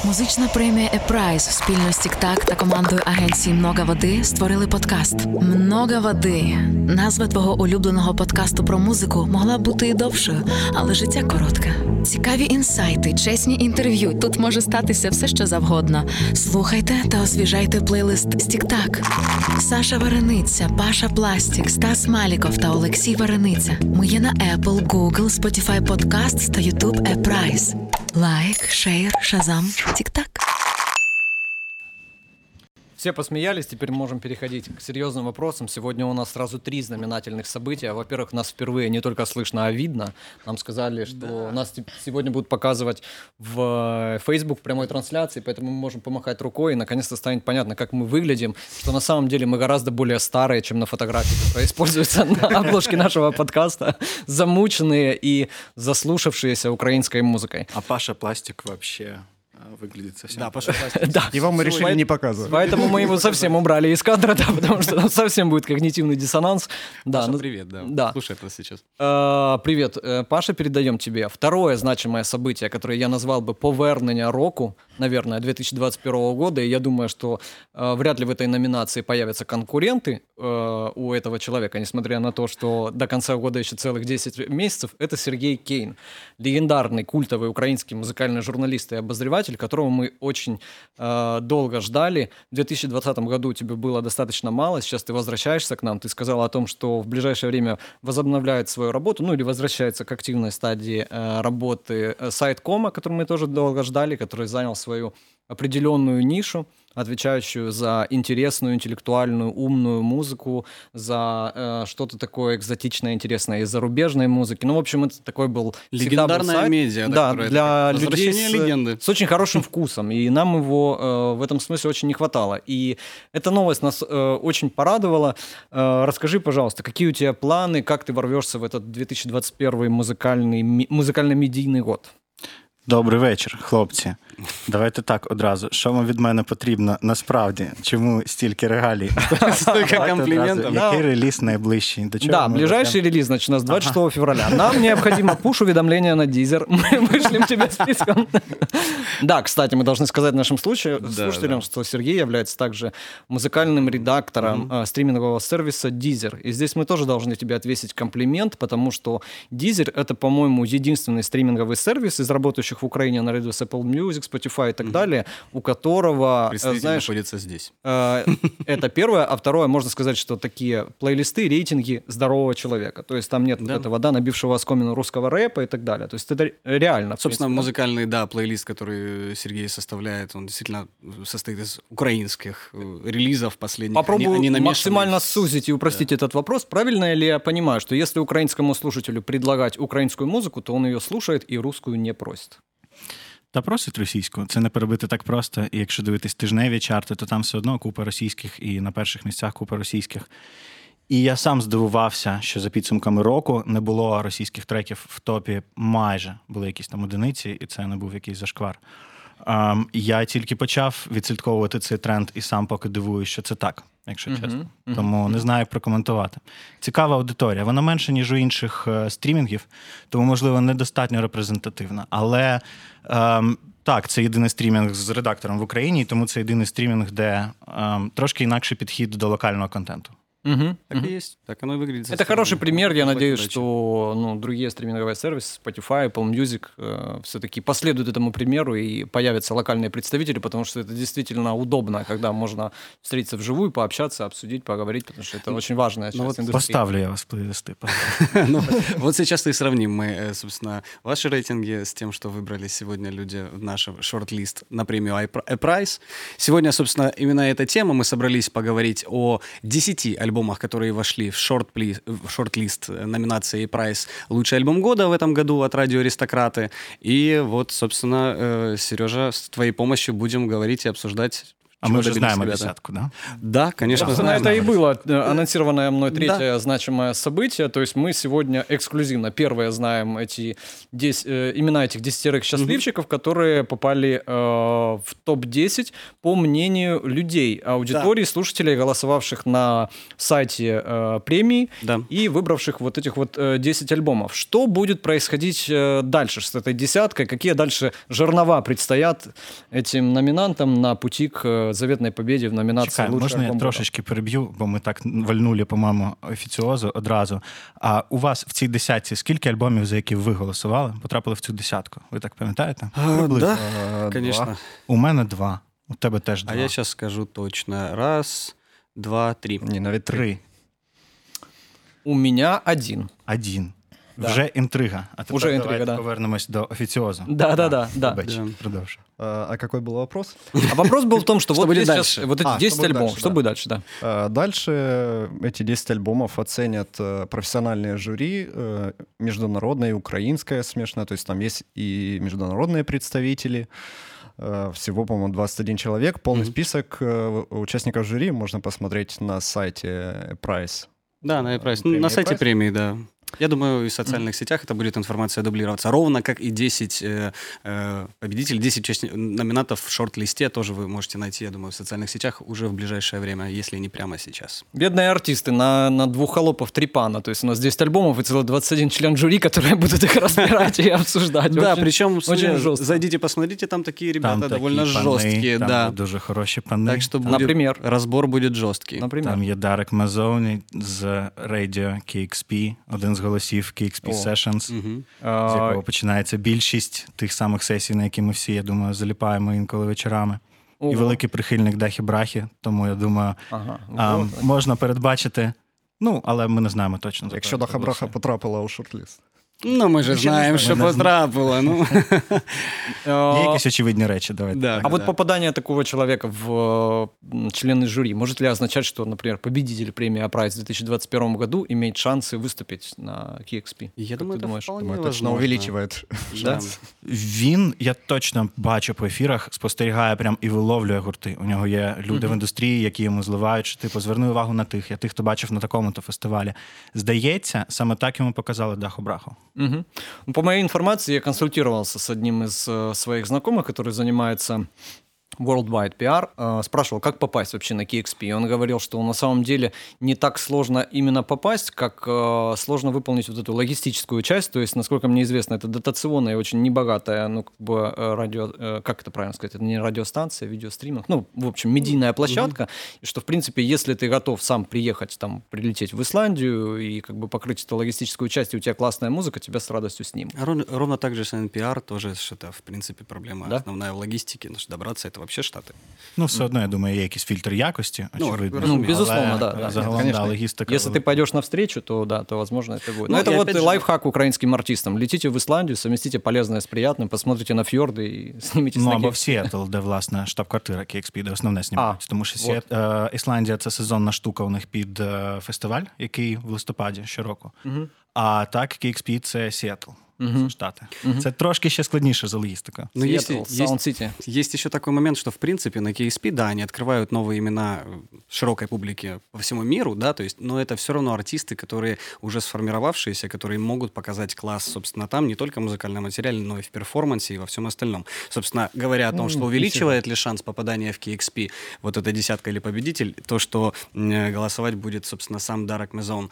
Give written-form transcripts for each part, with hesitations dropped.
Музична премія «Епрайс» спільно з Тік-Так та командою агенції «Много води» створили подкаст «Много води». Назва твого улюбленого подкасту про музику могла б бути і довшою, але життя коротке. Цікаві інсайти, чесні інтерв'ю. Тут може статися все, що завгодно. Слухайте та освіжайте плейлист з Тік-Так. Саша Варениця, Паша Пластік, Стас Маліков та Олексій Варениця. Ми є на Apple, Google, Spotify Podcasts та YouTube «Епрайс». Лайк, шейр, шазам, Тік-Так. Все посмеялись, теперь можем переходить к серьезным вопросам. Сегодня у нас сразу 3 знаменательных события. Во-первых, нас впервые не только слышно, а видно. Нам сказали, что нас сегодня будут показывать в Facebook в прямой трансляции, поэтому мы можем помахать рукой, и наконец-то станет понятно, как мы выглядим, что на самом деле мы гораздо более старые, чем на фотографии, которые используются на обложке нашего подкаста, замученные и заслушавшиеся украинской музыкой. А Паша Пластик вообще выглядит совсем... Да, Паша Пластик. Да. Его мы решили не показывать. Поэтому мы его совсем убрали из кадра, да, потому что там совсем будет когнитивный диссонанс. Паша, Да, привет, да. Да. Слушай это сейчас. Привет, Паша, передаем тебе. Второе значимое событие, которое я назвал бы повернення року, наверное, 2021 года, и я думаю, что вряд ли в этой номинации появятся конкуренты у этого человека, несмотря на то, что до конца года еще целых 10 месяцев, это Сергей Кейн, легендарный культовый украинский музыкальный журналист и обозреватель, которого мы очень долго ждали. В 2020 году тебе было достаточно мало, сейчас ты возвращаешься к нам, ты сказала о том, что в ближайшее время возобновляет свою работу, ну или возвращается к активной стадии работы сайт Кома, который мы тоже долго ждали, который занял свою определенную нишу, отвечающую за интересную, интеллектуальную, умную музыку, за что-то такое экзотичное, интересное из зарубежной музыки. Ну, в общем, это такой был легендарная сайт, медиа, да, которая для людей легенды. с очень хорошим вкусом, и нам его в этом смысле очень не хватало. И эта новость нас очень порадовала. Расскажи, пожалуйста, какие у тебя планы, как ты ворвешься в этот 2021 музикально-медійний год? Добрий вечір, хлопці. Давайте так одразу. Що вам від мене потрібно насправді? Чому стільки регалій? Столько комплиментов. Який реліз найближчий? До чого Да, ми ближайший ведемо? релиз, значит, у нас 26 февраля. Нам необходимо пуш-уведомление на Deezer. Мы вышлем тебе списком. Да, кстати, мы должны сказать нашим слушателям, что Сергей является также музыкальным редактором стримингового сервиса Deezer. И здесь мы тоже должны тебе отвесить комплимент, потому что Deezer — это, по-моему, единственный стриминговый сервис из работающих в Украине наряду с Apple Music, Spotify и так далее, у которого, Представитель знаешь, находится здесь. это первое, а второе, можно сказать, что такие плейлисты, рейтинги здорового человека. То есть там нет вот этого, да, набившего оскомину русского рэпа и так далее. То есть это реально. Собственно, музыкальный, да, плейлист, который Сергей составляет, он действительно состоит из украинских релизов последних. Попробую максимально сузить и упростить этот вопрос. Правильно ли я понимаю, что если украинскому слушателю предлагать украинскую музыку, то он ее слушает и русскую не просит? Та просить російську. Це не перебити так просто. І якщо дивитись тижневі чарти, то там все одно купа російських і на перших місцях купа російських. І я сам здивувався, що за підсумками року не було російських треків в топі майже. Були якісь там одиниці, і це не був якийсь зашквар. Я тільки почав відслідковувати цей тренд і сам поки дивуюсь, що це так, якщо чесно. Тому не знаю, як прокоментувати. Цікава аудиторія. Вона менша, ніж у інших стрімінгів, тому, можливо, недостатньо репрезентативна. Але так, це єдиний стрімінг з редактором в Україні, тому це єдиний стрімінг, де трошки інакший підхід до локального контенту. Так и есть, так оно и выглядит. Это хороший пример. Я надеюсь, что другие стриминговые сервисы, Spotify, Apple Music, все-таки последуют этому примеру и появятся локальные представители, потому что это действительно удобно, когда можно встретиться вживую, пообщаться, обсудить, поговорить, потому что это очень важная часть индустрии. Поставлю я вас в плейлисты. Вот сейчас и сравним мы, собственно, ваши рейтинги с тем, что выбрали сегодня люди в наш шорт-лист на премию iPrize. Сегодня, собственно, именно эта тема. Мы собрались поговорить о 10 альбомах, которые вошли в шорт-лист номинации iPrize «Лучший альбом года» в этом году от радио «Аристократы». И вот, собственно, Сережа, с твоей помощью будем говорить и обсуждать. А чего мы уже добились знаем ребята. десятку, да? Да, конечно, Собственно, знаем. это и было анонсированное мной третье значимое событие. То есть мы сегодня эксклюзивно первые знаем имена этих 10 счастливчиков, которые попали в топ-10 по мнению людей, аудитории, слушателей, голосовавших на сайте премии Да. и выбравших вот этих вот 10 альбомов. Что будет происходить дальше с этой десяткой? Какие дальше жернова предстоят этим номинантам на пути к заветной победе в номинации Чекай, «Лучший можна я альбом года»? трошечки переб'ю, бо ми так вальнули, по-моєму, офіціозу одразу. А у вас в цій десятці скільки альбомів, за які ви голосували, потрапили в цю десятку? Ви так пам'ятаєте? Да, Два. конечно. У мене 2, у тебе теж 2. А я сейчас скажу точно. 1, 2, 3. Ні, навіть 3. 3. У меня 1. 1. Да. Вже інтрига. А тепер Уже інтрига, давайте да. повернемось до офіціозу. Да. Вибач, Да. продовжуй. А какой был вопрос? А вопрос был в том, что Что вот будет есть сейчас дальше? вот эти 10 что будет альбомов. дальше, Что да. будет дальше, да? Дальше эти 10 альбомов оценят профессиональные жюри, международное и украинское смешанное, то есть там есть и международные представители, всего, по-моему, 21 человек. Полный список участников жюри можно посмотреть на сайте Price. Да, на iPrice. Премия На сайте iPrice? премии, да. Я думаю, и в социальных сетях это будет информация дублироваться. Ровно как и 10 победителей, 10 номинантов в шорт-листе тоже вы можете найти, я думаю, в социальных сетях уже в ближайшее время, если не прямо сейчас. Бедные артисты на двух холопов 3 пана. То есть у нас 10 альбомов и целый 21 член жюри, которые будут их разбирать и обсуждать. Да, Очень- причем очень жестко. зайдите, посмотрите, там такие ребята Там довольно такі пани, жесткие, там да. дуже хороші пани. Так что будет, Например? разбор будет жесткий. Например. Там є Дарек Мазоні з Radio KXP, один з голосів KXP Sessions, Мгм. з якого починається більшість тих самих сесій, на які ми всі, я думаю, заліпаємо інколи вечорами. І Ого. великий прихильник Дахі-Брахі, тому я думаю, Ага. Вот. можна передбачити, але ми не знаємо точно. за Якщо кого Даха це Браха голосує. потрапила у шорт-лист. Ну, мы же знаем, что потрапило. Ну. Є якісь очевидні речі, давайте. Да. А вот попадание такого человека в члены жюри может ли означать, что, например, победитель премии «Апрайс» в 2021 году имеет шансы выступить на KXP? Я Как думаю, ты это думаешь? вполне Думаю, точно возможно. увеличивает. Да. Він, я точно бачу по ефірах, спостерігає прям і виловлює гурти. У нього є люди в індустрії, які йому зливають, що типу, зверни увагу на тих, я тих, хто бачив на такому-то фестивалі. Здається, саме так йому показали Даху Браху. Мгм. Ну, по моей информации, я консультировался с одним из своих знакомых, который занимается Worldwide PR, спрашивал, как попасть вообще на KXP. И он говорил, что на самом деле не так сложно именно попасть, как сложно выполнить вот эту логистическую часть. То есть, насколько мне известно, это дотационная и очень небогатая, ну, как бы радио, как это правильно сказать, это не радиостанция, видеостриминг, ну, в общем, медийная площадка. И что, в принципе, если ты готов сам приехать, там, прилететь в Исландию и как бы покрыть эту логистическую часть, и у тебя классная музыка, тебя с радостью снимут. Ровно так же с NPR тоже, что это, в принципе, проблема Да? основная в логистике, но что добраться это вообще Штаты. Ну, все одно, я думаю, є якийсь фільтр якості, Ну, очевидно. ну, безусловно, Але да. Загалом, Конечно. да, логістика. Если ты пойдешь навстречу, то да, то возможно это будет. Ну, Но это и вот опять же- лайфхак украинским артистам. Летите в Исландию, совместите полезное с приятным, посмотрите на фьорды и снимитесь Ну, на або в KXP. Сіетл, де, власне, штаб-квартира KXP, де основне знімають. Тому що вот. Ісландія – це сезонна штука у них під фестиваль, який в листопаді щороку. А так, KXP – це Сіетл, це Штати. Це трошки ще складніше за логістикою. Но есть, Seattle, Sound City. есть еще такой момент, что, в принципе, на KSP, да, они открывают новые имена широкой публике по всему миру, да, то есть, но это все равно артисты, которые уже сформировавшиеся, которые могут показать класс, собственно, там, не только в музыкальном материале, но и в перформансе, и во всем остальном. Собственно, говоря о том, что увеличивает ли шанс попадания в KXP вот эта десятка или победитель, то, что голосовать будет, собственно, сам Дарек Мезон,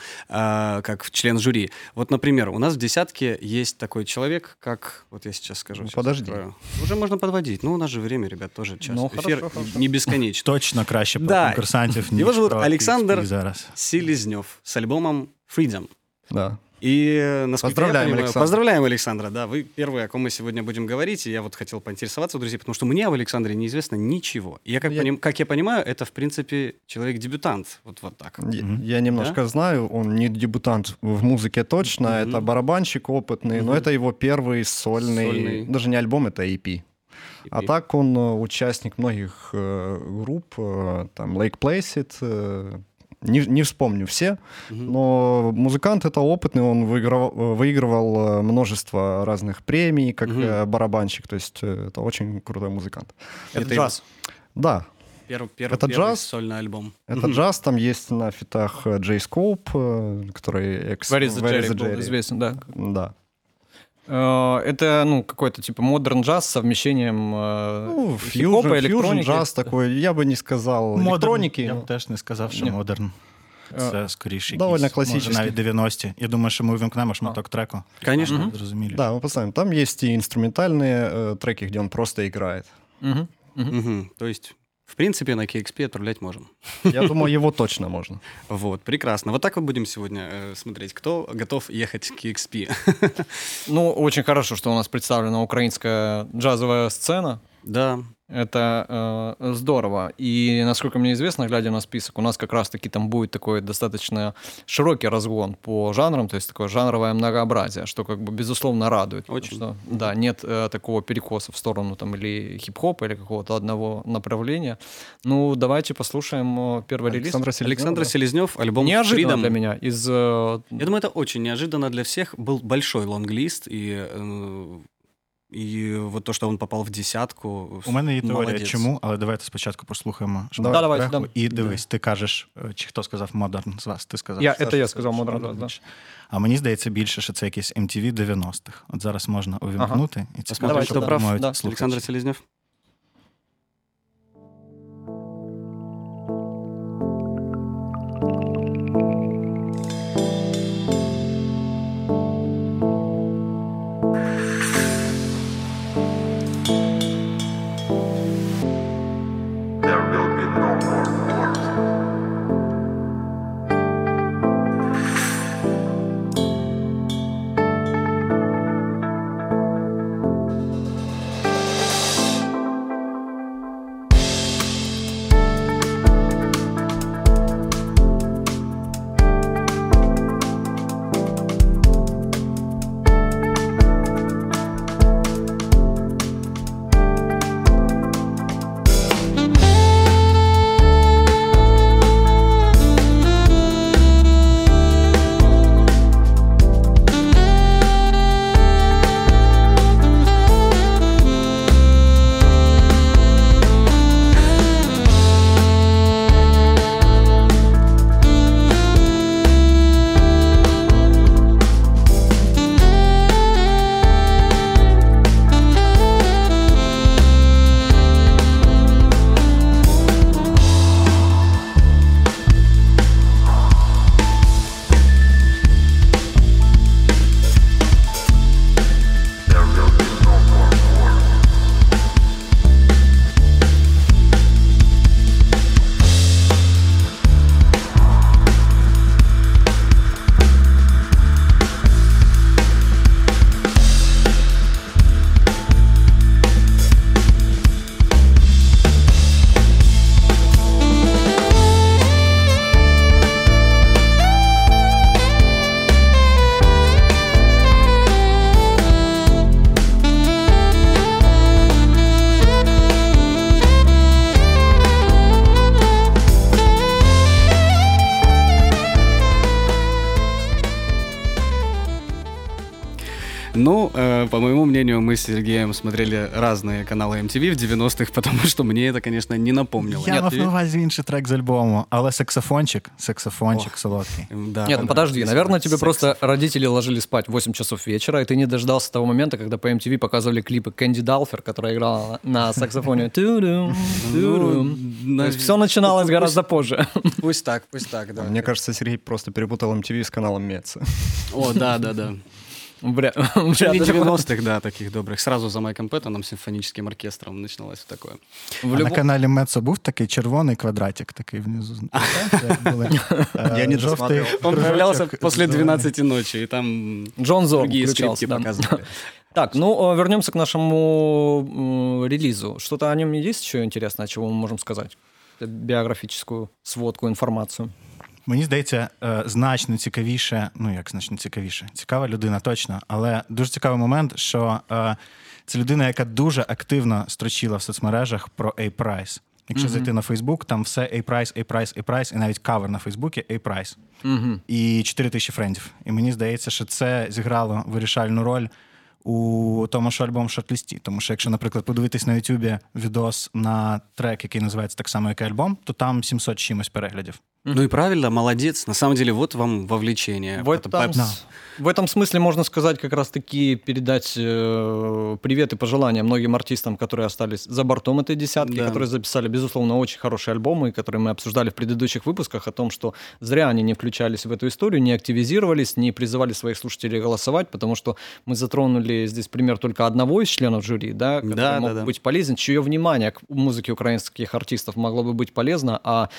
как член жюри. Вот, например, у нас в десятке есть такой человек, как, вот я сейчас скажу. сейчас Подожди. открою. Уже можно подводить. Ну, у нас же время, ребят, тоже час. Ну, Эфир хорошо. не бесконечно. Точно краще про Да. конкурсантів, ніж Його зовут про Олександр KXP зараз. Селезнев с альбомом Freedom. Да. И, насколько Поздравляем, я понимаю, Александр. Поздравляем, Александра. Да, вы первый, о ком мы сегодня будем говорить. И я вот хотел поинтересоваться у друзей, потому что мне об Александре неизвестно ничего. И я, как я понимаю, это, в принципе, человек-дебютант. Вот так. Я немножко знаю, он не дебютант в музыке точно, это барабанщик опытный, но это его первый сольный, даже не альбом, это EP. А так он участник многих групп, там Lake Placid, не вспомню все, но музыкант это опытный, он выигрывал множество разных премий, как барабанщик, то есть это очень крутой музыкант. Это джаз. Да, Первый джаз. сольный альбом. Это джаз, там есть на фитах Джей Скоуп, который Where is the Jerry был известен, да. Да. Это, ну, какой-то типа модерн джаз с совмещением хип-хопа, электроники. Джаз такой, я бы не сказал електроніки. Я б теж не сказав, що модерн. Це скоріше довольно якісь, класичний. може, навіть 90-ті. Я думаю, що ми увімкнемо шматок треку. Конечно. Зрозумілі. Да, мы поставим. Там есть и инструментальные треки, где он просто играет. То есть, в принципе, на KXP отправлять можем. Я думаю, его точно можно. Вот, прекрасно. Вот так вот будем сегодня смотреть, кто готов ехать к KXP. Ну, очень хорошо, что у нас представлена украинская джазовая сцена. Да. Это здорово. И, насколько мне известно, глядя на список, у нас как раз-таки там будет такой достаточно широкий разгон по жанрам, то есть такое жанровое многообразие, что как бы безусловно радует. Очень. Что, да, нет такого перекоса в сторону там или хип-хопа, или какого-то одного направления. Ну, давайте послушаем первый релиз. Александр Селезнёв, альбом Неожиданно Freedom. для меня. Я думаю, это очень неожиданно для всех. Был большой лонглист, і от то, що він попав в десятку. У мене є теорія, молодець. чому, але давайте спочатку послухаємо Да, давайте, треку. да. І дивись, ти кажеш, чи хто сказав модерн з вас? Ти сказав. Я сказав модерн, да. А мені здається більше, що це якийсь MTV 90-х. От зараз можна увімкнути і цікаво, Давайте, що да. подумають Да. слухачі. Олександр Селезнёв. There will be no more wars. There will be no more wars. Ну, по моему мнению, мы с Сергеем смотрели разные каналы MTV в 90-х, потому что мне это, конечно, не напомнило. Я мав на увазі інший трек з альбому, але саксофончик солодкий. Да, Нет, ну подожди, да, наверное, тебе секс. просто родители ложили спать в 8 часов вечера, и ты не дождался того момента, когда по MTV показывали клипы Кэнди Далфер, которая играла на саксофоне. Ту-дум, ту-дум. То есть все начиналось гораздо позже. Пусть так, да. Мне кажется, Сергей просто перепутал MTV с каналом Меца. О, да. Вряд Не ли. 90-х, да, таких добрих. Сразу за Майком Пэттоном, симфоническим оркестром начиналось такое. А на каналі Мецо був такий червоний квадратик такий внизу. Я не досмотрел. Он появлялся после 12 ночи, и там Джон Зорн другие включался, скрипки да. показывали. Так, ну вернемся к нашему релизу. Что-то о нем есть еще интересное, чего мы можем сказать? Биографическую сводку, информацию. Мені здається, значно цікавіше, цікава людина точно, але дуже цікавий момент, що це людина, яка дуже активно строчила в соцмережах про A-Price. Якщо зайти на Фейсбук, там все A-Price, і навіть кавер на Фейсбуці A-Price. І 4000 френдів. І мені здається, що це зіграло вирішальну роль у тому, що альбом в шорт-лісті. Тому що якщо, наприклад, подивитись на Ютубі відос на трек, який називається так само, як і альбом, то там 700 чимось переглядів. Ну и правильно, молодец. На самом деле, вот вам вовлечение. В этом смысле можно сказать, как раз-таки передать привет и пожелания многим артистам, которые остались за бортом этой десятки, которые записали, безусловно, очень хорошие альбомы, которые мы обсуждали в предыдущих выпусках, о том, что зря они не включались в эту историю, не активизировались, не призывали своих слушателей голосовать, потому что мы затронули здесь пример только одного из членов жюри, да, который мог быть полезен, чье внимание к музыке украинских артистов могло бы быть полезно,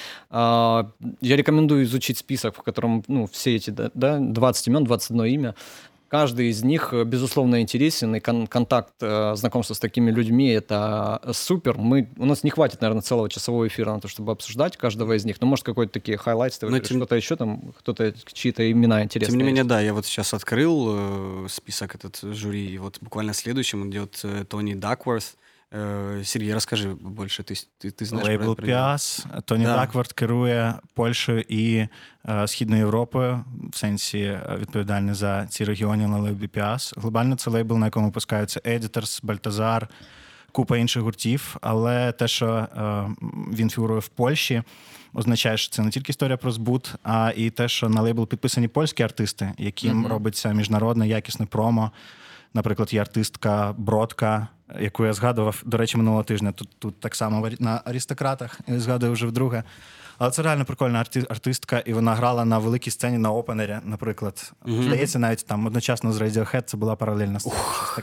я рекомендую изучить список, в котором все эти 20 имен, 21 имя. Каждый из них, безусловно, интересен, и контакт, знакомство с такими людьми — это супер. У нас не хватит, наверное, целого часового эфира на то, чтобы обсуждать каждого из них. Но, может, какой-то такие хайлайтсы, что-то еще там, кто-то, чьи-то имена интересные. Тем не менее, да, я вот сейчас открыл список этот жюри, и вот буквально следующим идет Тони Дакворт. Сергій, розкажи більше, ти знаєш про лейбл Піас. Тоні Дакворт керує Польщею і Східною Європою, в сенсі відповідальний за ці регіони на лейблі Піас. Глобально це лейбл, на якому випускаються Editors, Бальтазар, купа інших гуртів, але те, що він фігурує в Польщі, означає, що це не тільки історія про збут, а і те, що на лейбл підписані польські артисти, яким робиться міжнародне якісне промо. Наприклад, є артистка Бродка, яку я згадував, до речі, минулого тижня. Тут так само на «Аристократах», я згадую вже вдруге. Але це реально прикольна артистка, і вона грала на великій сцені на опенері, наприклад. Здається, навіть там одночасно з Radiohead це була паралельна сцена.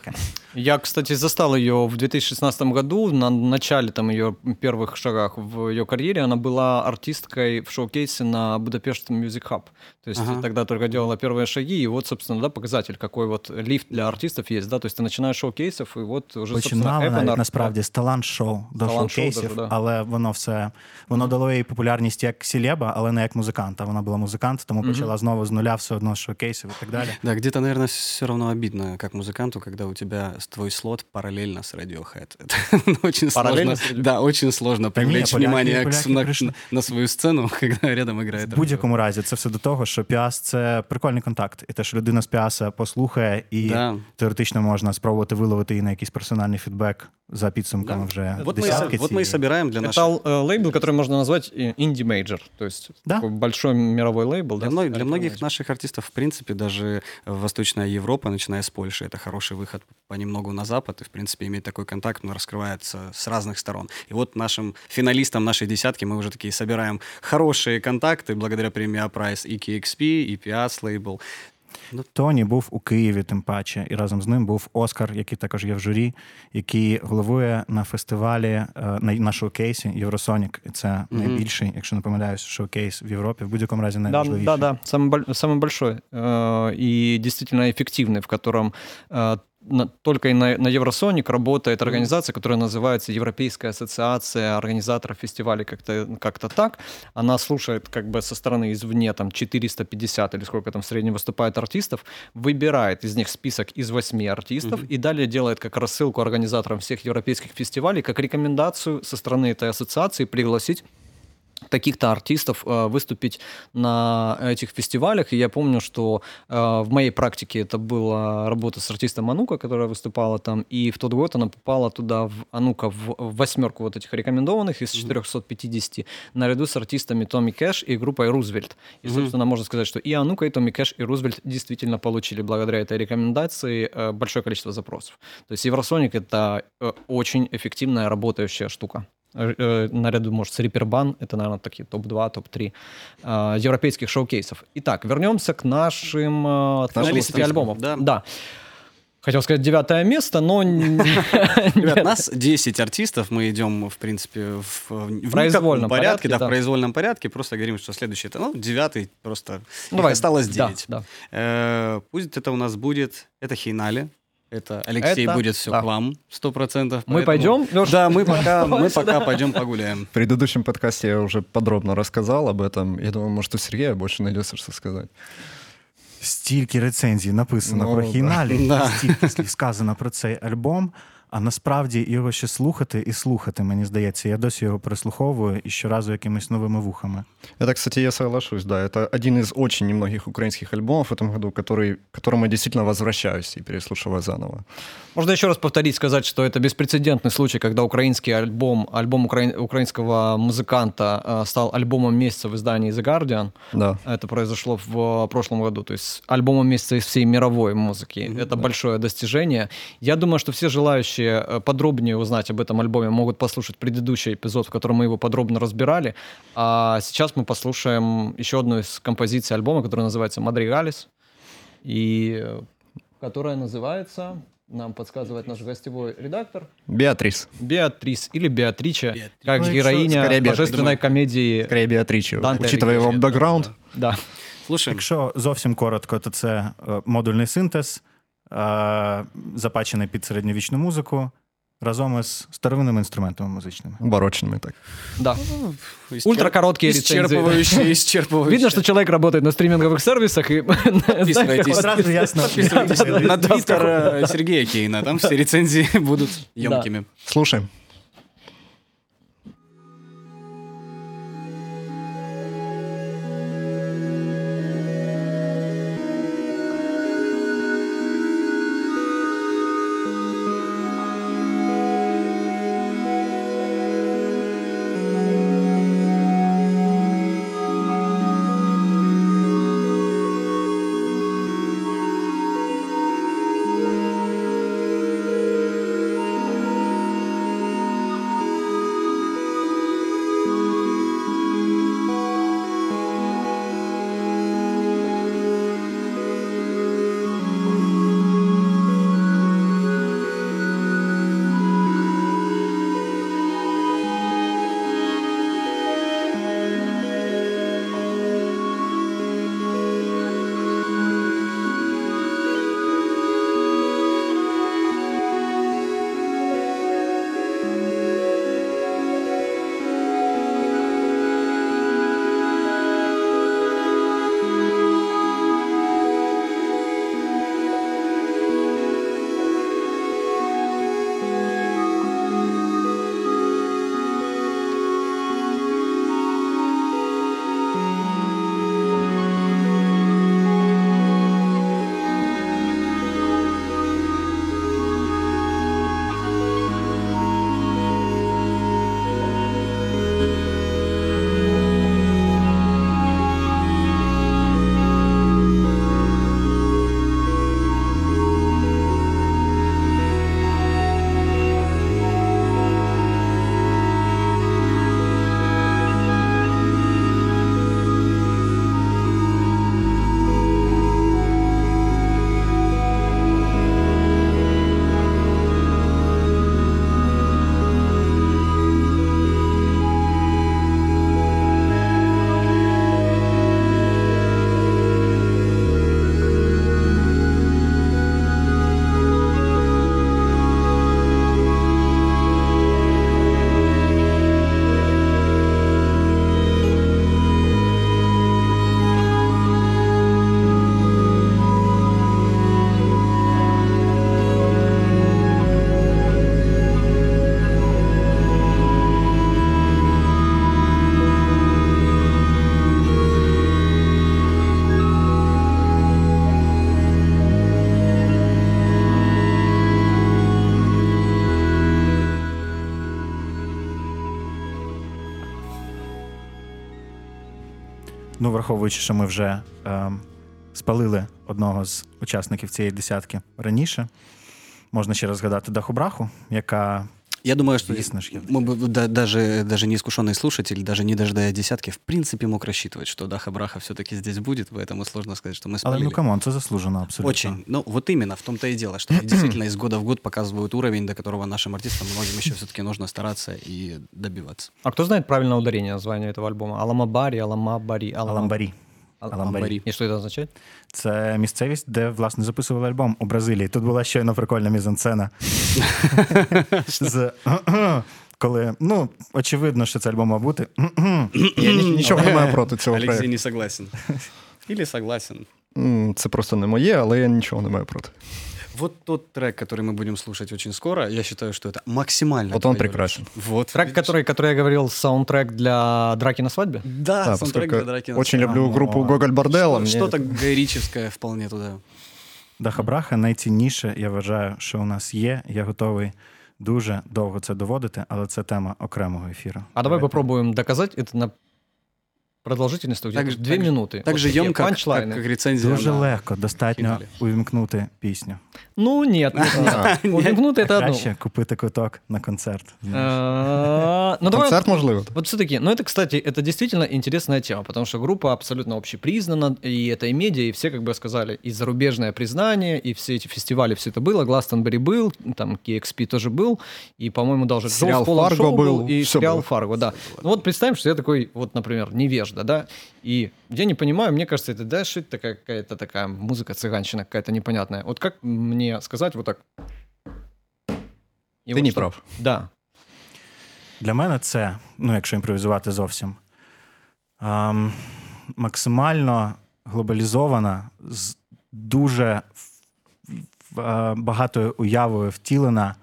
Я, кстати, застал ее в 2016 году, на начале там ее первых шагах в ее карьере. Она была артисткой в шоу-кейсе на Budapest Music Hub. То есть тогда только делала первые шаги, и вот, собственно, показатель, какой вот лифт для артистов есть, да, то есть ты начинаешь шоу-кейсов, и вот уже, починала навіть, насправді, з талант-шоу до шоу-кейсів, але воно дало їй популярність як селеба, але не як музиканта. Вона була музикант, тому почала знову з нуля все одно з шоу-кейсів і так далі. Да, где-то, наверное, все равно обидно, как музыканту, когда у тебя твой слот параллельно с Radiohead. Это очень сложно. Да, очень сложно привлечь внимание на свою сцену, когда рядом играет. В будь-якому разі, це все до того, що Піас – це прикольний контакт. І те, що людина з Піаса послухає, і теоретично можна спробувати виловити її на якийсь персональний фідбек за підсумками вже десятки. Вот мы и собираем для наших... Это лейбл, который можно назвать инди-мейджор, то есть такой большой мировой лейбл. Для многих наших артистов, в принципе, даже Восточная Европа, начиная с Польши, это хороший выход понемногу на Запад, и, в принципе, иметь такой контакт, он раскрывается с разных сторон. И вот нашим финалистам нашей десятки мы уже такие собираем хорошие контакты благодаря премии A-Prize и KXP, и Pias лейбл. Тоні був у Києві, тим паче, і разом з ним був Оскар, який також є в журі, який головує на фестивалі, на шоу-кейсі Євросонік. І це найбільший, якщо не помиляюсь, шоу-кейс в Європі, в будь-якому разі найважливіший. Да, самый большой и действительно эффективный, в котором только и на Евросоник работает организация, которая называется Европейская ассоциация организаторов фестивалей, как-то так. Она слушает как бы со стороны извне там 450 или сколько там в среднем выступает артистов, выбирает из них список из 8 артистов и далее делает как рассылку организаторам всех европейских фестивалей, как рекомендацию со стороны этой ассоциации пригласить таких-то артистов выступить на этих фестивалях. И я помню, что в моей практике это была работа с артистом Анука, которая выступала там, и в тот год она попала туда, Анука, в 8 вот этих рекомендованных из 450, наряду с артистами Томми Кэш и группой Рузвельт. И, собственно, можно сказать, что и Анука, и Томми Кэш, и Рузвельт действительно получили благодаря этой рекомендации большое количество запросов. То есть Евросоник — это очень эффективная работающая штука. Наряду, может, с Риппербан, это, наверное, такие топ-2, топ-3 европейских шоу-кейсов. Итак, вернемся к нашим альбомам. Да. Хотел сказать 9 место, но... Ребят, нас 10 артистов, мы идем, в принципе, в произвольном порядке. Да, в произвольном порядке, просто говорим, что следующий это, 9 просто, их осталось 9. Да. Пусть это у нас будет, это Хейнали. Это Алексей будет все к вам, 100%. Мы пойдем, Лёша? Да, мы пока пойдем погуляем. В предыдущем подкасте я уже подробно рассказал об этом. Я думаю, может, у Сергея больше найдется, что сказать. Стільки рецензій написано про Хейналі, стільки слів сказано про цей альбом, А насправді його ще слухати і слухати, мені здається. Я досі його переслуховую і щоразу якимись новими вухами. Это, кстати, я соглашусь, да. Это один из очень немногих украинских альбомов в этом году, к которому я действительно возвращаюсь и переслушиваю заново. Можно еще раз повторить, сказать, что это беспрецедентный случай, когда украинский альбом украинского музыканта стал альбомом месяца в издании The Guardian. Да. Это произошло в прошлом году, то есть альбомом месяца из всей мировой музыки. Это большое достижение. Я думаю, что все желающие подробнее узнать об этом альбоме могут послушать предыдущий эпизод, в котором мы его подробно разбирали. А сейчас мы послушаем еще одну из композиций альбома, которая называется «Мадригалис», и которая называется, нам подсказывает наш гостевой редактор, Беатрис. Беатрис или Беатрича, как Ну, героиня скорее Беатрис. божественной комедии. Скорее Беатриче, Данте учитывая его Алигьери. бэкграунд. Да. Слушаем. Якщо зовсім коротко, то це модульний синтез, запачений під середньовічну музику, разом із старовинними інструментами музичними. Барочными так. Да. Ультракороткие рецензии. Исчерпывающие. Видно, что человек работает на стриминговых сервисах и Подписывайтесь. Одразу ясно. На твиттер Сергея Кейна, там все рецензии будут емкими. Слушаем. Ну, враховуючи, що ми вже спалили одного з учасників цієї десятки раніше, можна ще раз згадати Даху Браху, яка... Я думаю, что Ясно, что мы бы, даже неискушенный слушатель, даже не дожидая десятки, в принципе мог рассчитывать, что Даха Браха все-таки здесь будет, поэтому сложно сказать, что мы спалили. Але ну камон, це заслужено абсолютно. Очень. Ну, вот именно, в том-то и дело, что они действительно из года в год показывают уровень, до которого нашим артистам многим еще все-таки нужно стараться и добиваться. А кто знает правильное ударение названия этого альбома? Аламабари, Аламабари, Аламбарі. Аламбари. И что это означает? Це місцевість, де, власне, записували альбом у Бразилії. Тут була щойно прикольна мізансцена. Коли, ну, очевидно, що це альбом мав бути. Я нічого не маю проти цього Алексей проєкту. не согласен. Или согласен. Це просто не моє, але я нічого не маю проти. Вот тот трек, который мы будем слушать очень скоро, я считаю, что это максимально... Вот он твоё. прекрасен. Вот. Трек, который я говорил, саундтрек для драки на свадьбе? Да, Да, саундтрек поскольку для драки на очень свадьбе. люблю группу Гоголь Борделла. мне Что-то гайрическое вполне туда. Даха Браха найцінніше, я вважаю, що у нас є. Я готовий дуже довго це доводити, але це тема окремого ефіру. А давай попробуем доказать это на продолжительность где-то 2 минуты. Так же Вот такие емко, панчлайны. как рецензия Дуже на легко, достатньо фіналі. увімкнути пісню. Ну, нет. Увімкнути это одно. Краще купити квиток на концерт. Ну, давай Концерт, можливо. вот все-таки, ну это, кстати, это действительно интересная тема, потому что группа абсолютно общепризнана, и это и медиа, и все, как бы сказали, и зарубежное признание, и все эти фестивали, все это было, Гластонбери был, там KXP тоже был, и, по-моему, даже Сериал Джо Полон «Фарго» Шоу был, и всё сериал было. «Фарго», да. Ну вот представим, что я такой, вот, например, невежда, да, и я не понимаю, мне кажется, это, да, что это такая какая-то такая музыка, цыганщина какая-то непонятная. Вот как мне сказать вот так? И Ти вот не что- прав. Да. Для мене це, ну якщо імпровізувати зовсім, максимально глобалізована, з дуже багатою уявою втілена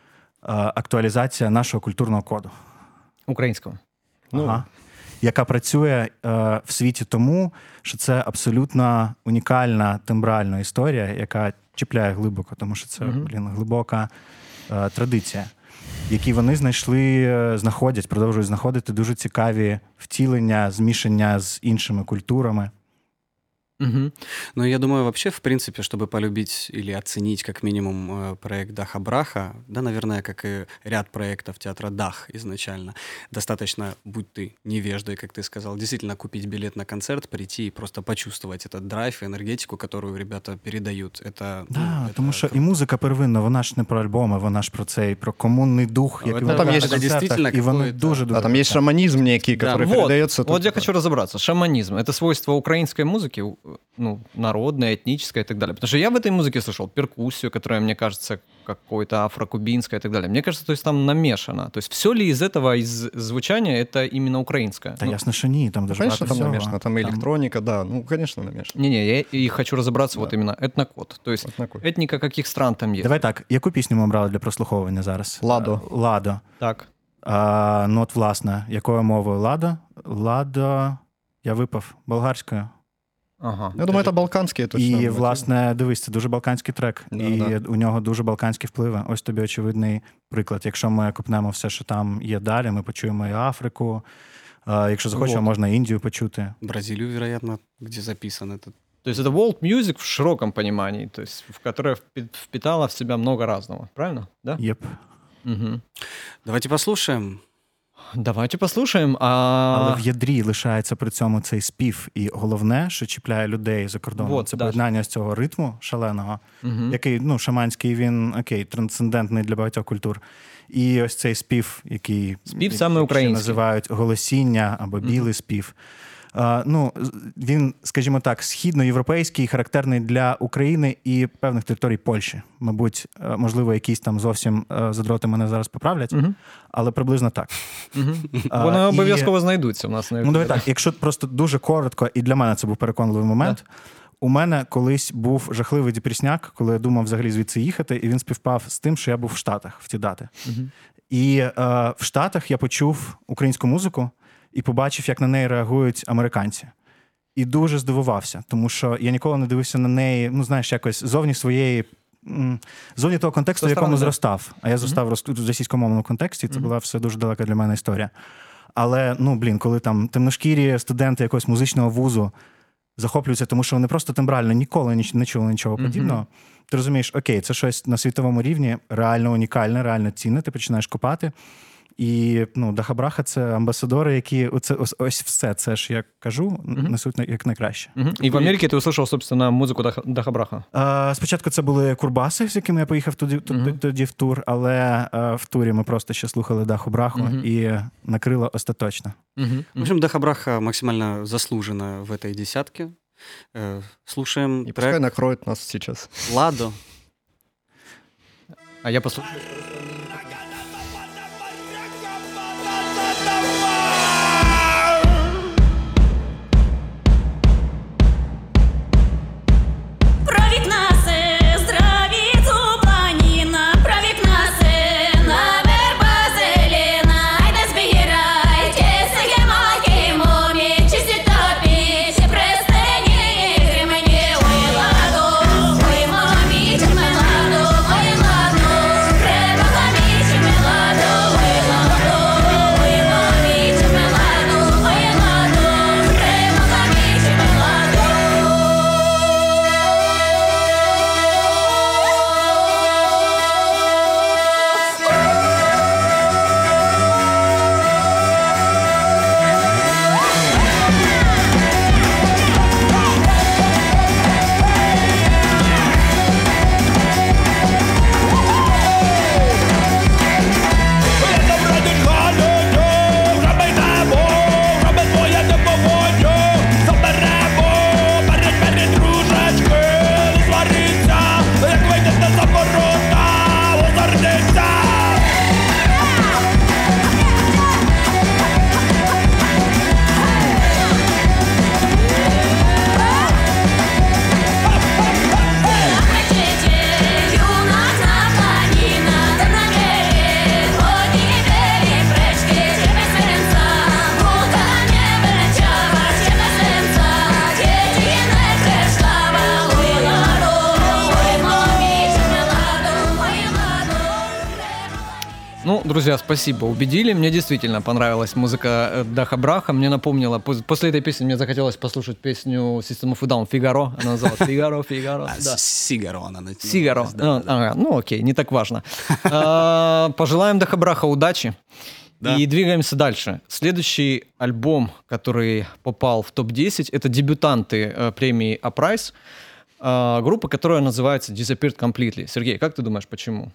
актуалізація нашого культурного коду. Украинского. Ага. Яка працює в світі тому, що це абсолютно унікальна тембральна історія, яка чіпляє глибоко, тому що це, глибока традиція, в якій вони знаходять, продовжують знаходити дуже цікаві втілення, змішання з іншими культурами. Мгм. Ну, я думаю, вообще, в принципе, чтобы полюбить или оценить как минимум проект Даха Браха, да, наверное, как и ряд проектов театра Дах изначально, достаточно, будь ты невеждой, как ты сказал, действительно купить билет на концерт, прийти и просто почувствовать этот драйв, энергетику, которую ребята передают. Это, Да, это тому що і круто. музика первинна, вона ж не про альбоми, вона ж про цей, про комунний дух, Ну, який там виникає є на концертах, дійсно і вони какой-то- дуже-дуже... Да, там есть шаманизм некий, Да. который Вот, передается. вот я тут. хочу разобраться. Шаманизм — это свойство украинской музыки, ну, народной, этнической и так далее. Потому что я в этой музыке слышал перкуссию, которая, мне кажется, какой-то афрокубинская и так далее. Мне кажется, то есть там намешано. То есть все ли из этого, из звучания, это именно украинское? Та ясно, що ні, там дуже Конечно, багато там всього. намешано, там и электроника, да, ну, конечно, намешано. Не-не, я и хочу разобраться вот именно этнокод. То есть Этнокод. этника каких стран там есть. Давай так, яку пісню ми брали для прослуховування зараз? Ладо. Ладо. Так. Ну от, власне, якою мовою Ладо? Ладо, я випав болгарською. Ага. Я думаю, это балканские точно. І, власне, дивись, це дуже балканський трек. Да, і да. у нього дуже балканські впливи. Ось тобі очевидний приклад. Якщо ми копнемо все, що там є далі, ми почуємо і Африку. Якщо захочемо, Вот. можна Індію почути. Бразилию, вероятно, где записан этот. То есть это world music в широком понимании, то есть в которое впитало в себя много разного. Правильно? Да? Єп. Мгм. Давайте послушаем. Давайте послушаем. Але в ядрі лишається при цьому цей спів. І головне, що чіпляє людей за кордоном, Вот, це да. поєднання з цього ритму шаленого, Мгм. який, ну, шаманський, він, окей, трансцендентний для багатьох культур. І ось цей спів, який Спів саме ще український. називають голосіння або білий спів. Ну, він, скажімо так, східноєвропейський, характерний для України і певних територій Польщі. Мабуть, можливо, якісь там зовсім задроти мене зараз поправлять, але приблизно так. Вони і- обов'язково знайдуться у нас на Ну, давай YouTube. так, якщо просто дуже коротко, і для мене це був переконливий момент. У мене колись був жахливий депресняк, коли я думав взагалі звідси їхати, і він співпав з тим, що я був в Штатах в ті дати. І в Штатах я почув українську музику і побачив, як на неї реагують американці. І дуже здивувався, тому що я ніколи не дивився на неї, ну, знаєш, якось зовні своєї, зовні того контексту, в якому да. зростав. А я зростав в російськомовному контексті, це була все дуже далека для мене історія. Але, коли там темношкірі студенти якогось музичного вузу захоплюються, тому що вони просто тембрально ніколи не чули нічого подібного, ти розумієш, окей, це щось на світовому рівні реально унікальне, реально цінне, ти починаєш копати. І Даха Браха — це амбасадори, які ось все це ж, як кажу, несуть як найкраще. І в Америці ти услышав, собственно, музику Даха Браха? Спочатку це були Курбаси, з якими я поїхав тоді в тур, але в турі ми просто ще слухали Даху Браху і накрило остаточно. В общем, Даха Браха максимально заслужена в этой десятке. Слушаем И пускай трек накроет нас сейчас. «Ладо». А я послухаю. Провід нас здравіт друзья, спасибо, убедили. Мне действительно понравилась музыка Даха Браха. Мне напомнила, после этой песни мне захотелось послушать песню System of a Down «Фигаро». Она называлась «Фигаро». Да. Сигаро она. «Сигаро». Ну окей, не так важно. Пожелаем Даха Браха удачи. Да. И двигаемся дальше. Следующий альбом, который попал в топ-10, это дебютанты премии A-Prize. Группа, которая называется Disappeared Completely. Сергей, как ты думаешь, почему?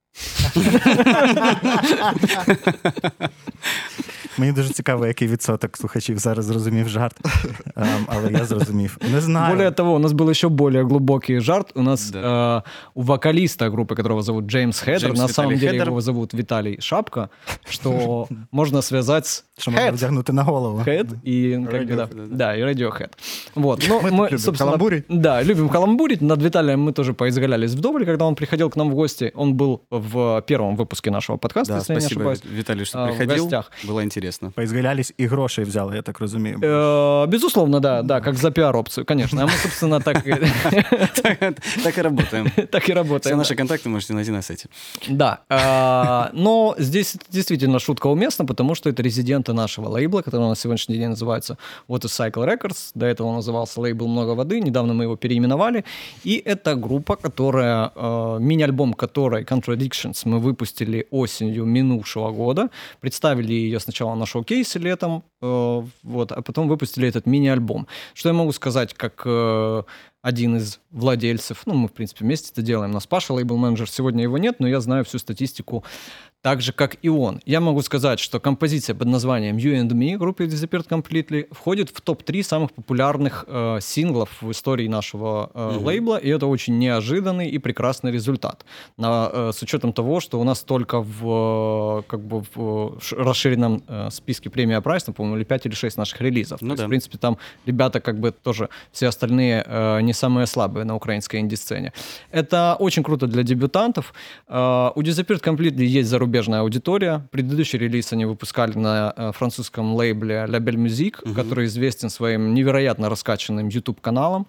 Мені дуже цікаво, який відсоток слухачів зараз зрозумів жарт, але я зрозумів. Не знаю. Более того, у нас был еще более глубокий жарт. У нас у вокалиста группы, которого зовут Джеймс Хедер, на самом деле его зовут Виталий Шапка, что можно связать с Що можна вдягнути на голову. Head и Radiohead. Вот. Мы любим каламбурить. Да, любим каламбурить. Над Виталием мы тоже поизгалялись вдоволь, когда он приходил к нам в гости. Он был в первом выпуске нашего подкаста, если я не ошибаюсь. Виталий, что приходил. Было интересно. Поизгалялись и грошей взяли, я так разумею. Безусловно, да, как за пиар-опцию, конечно. А мы, собственно, так и работаем. Так и работаем. Все наши контакты можете найти на сайте. Да. Но здесь действительно шутка уместна, потому что это резиденты нашего лейбла, который на сегодняшний день называется What is Cycle Records. До этого он назывался лейбл «Много воды». Недавно мы его переименовали. И это группа, которая... Мини-альбом которой Contradictions мы выпустили осенью минувшего года. Представили ее сначала на шоу-кейсе летом, вот, а потом выпустили этот мини-альбом. Что я могу сказать, как один из владельцев, мы, в принципе, вместе это делаем, у нас Паша, лейбл-менеджер, сегодня его нет, но я знаю всю статистику так же, как и он. Я могу сказать, что композиция под названием You and Me группы Disappeared Completely входит в топ-3 самых популярных синглов в истории нашего лейбла, и это очень неожиданный и прекрасный результат. С учетом того, что у нас только в расширенном списке премии A-Prize, по-моему, или 5 или 6 наших релизов. То есть, в принципе, там ребята тоже все остальные не самые слабые на украинской инди-сцене. Это очень круто для дебютантов. У Disappeared Completely есть зарубежная аудитория. Предыдущий релиз они выпускали на французском лейбле La Belle Musique, который известен своим невероятно раскачанным YouTube-каналом.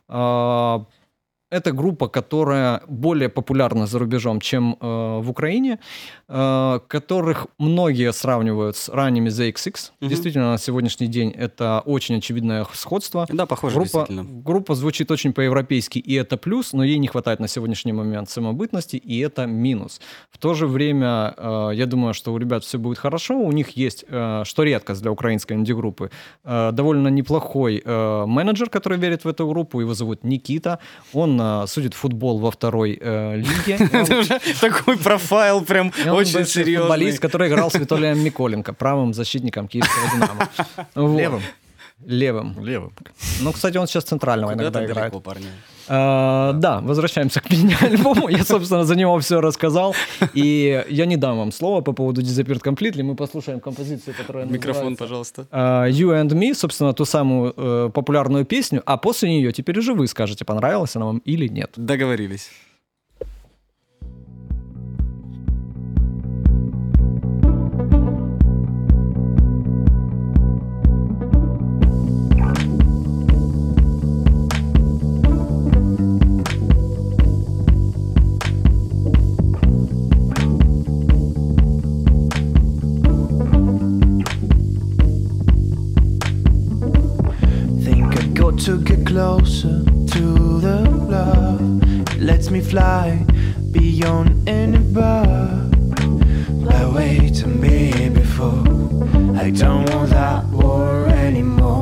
Это группа, которая более популярна за рубежом, чем в Украине, которых многие сравнивают с ранними The XX. Действительно, на сегодняшний день это очень очевидное сходство. Да, похоже, действительно. Группа звучит очень по-европейски, и это плюс, но ей не хватает на сегодняшний момент самобытности, и это минус. В то же время, я думаю, что у ребят все будет хорошо. У них есть, что редкость для украинской инди-группы, довольно неплохой менеджер, который верит в эту группу. Его зовут Никита. Он судит футбол во второй лиге. Это уже такой профайл прям очень серьезный. Футболист, который играл с Виталием Миколенко, правым защитником киевского «Динамо». Левым. Ну, кстати, он сейчас центрального иногда играет. Да, возвращаемся к мини-альбому. Я, собственно, за него все рассказал. И я не дам вам слова по поводу Disappeared Completely. Мы послушаем композицию, которая называется... Микрофон, пожалуйста. You and Me, собственно, ту самую популярную песню. А после нее теперь уже вы скажете, понравилась она вам или нет. Договорились. To get closer to the love, it lets me fly beyond any bar. I wait to be here before. I don't want that war anymore.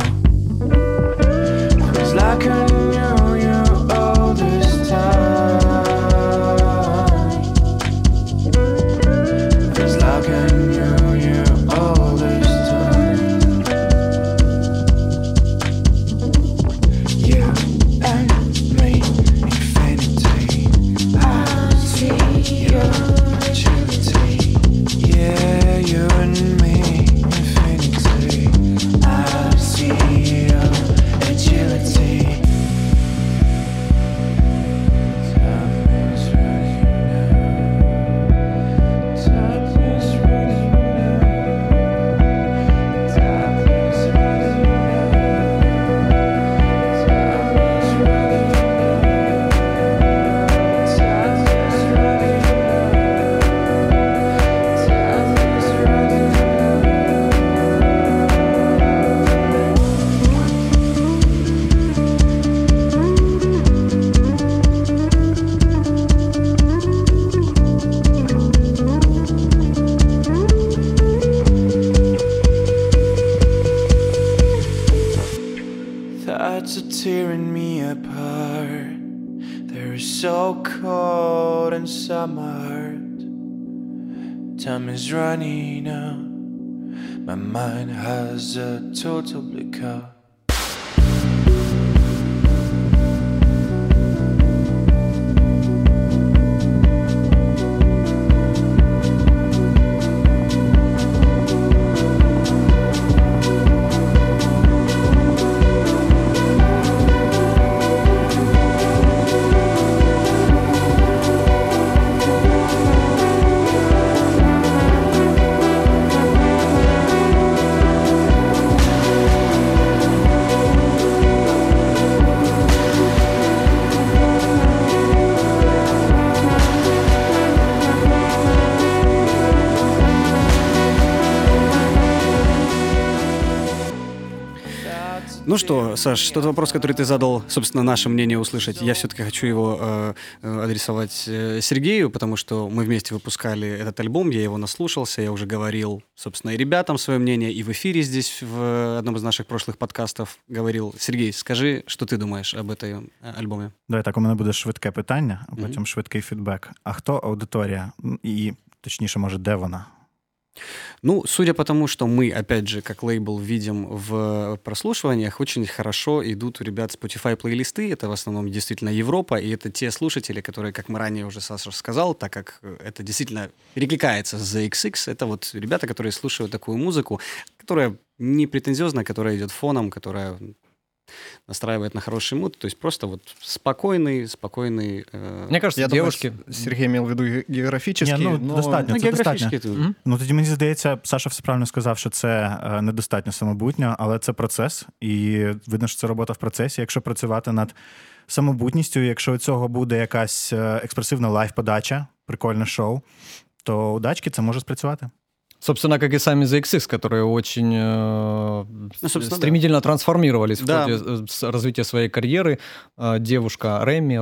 Feels like I knew you all this time. Feels like I knew you all this time. You're tearing me apart. They're so cold inside my heart. Time is running out. My mind has a total blackout. Ну что, Саш, тот вопрос, который ты задал, собственно, наше мнение услышать, я все-таки хочу его адресовать Сергею, потому что мы вместе выпускали этот альбом, я его наслушался, я уже говорил, собственно, и ребятам свое мнение, и в эфире здесь, в одном из наших прошлых подкастов говорил. Сергей, скажи, что ты думаешь об этом альбоме? Давай так, у мене буде швидке питання, а потім швидкий фідбек. А хто аудиторія? І, точніше, може, де вона? Ну, судя по тому, что мы, опять же, как лейбл видим в прослушиваниях, очень хорошо идут у ребят Spotify плейлисты. Это в основном действительно Европа, и это те слушатели, которые, как мы ранее уже Саша сказал, так как это действительно перекликается с The XX, это вот ребята, которые слушают такую музыку, которая не претензиозная, которая идет фоном, которая настраивает на хороший муд, то есть просто вот спокойный... Мне кажется, Я девушки... думаю, Сергей имел в виду географически, Ні, но... достатньо, Ну, це достатньо. географически... Ну, тоді, мені здається, Саша все правильно сказав, що це недостатньо самобутньо, але це процес, і видно, що це робота в процесі. Якщо працювати над самобутністю, якщо у цього буде якась експресивна лайв-подача, прикольне шоу, то у Дачки це може спрацювати. Собственно, как и сами The XX, которые очень стремительно трансформировались в ходе развития своей карьеры. Девушка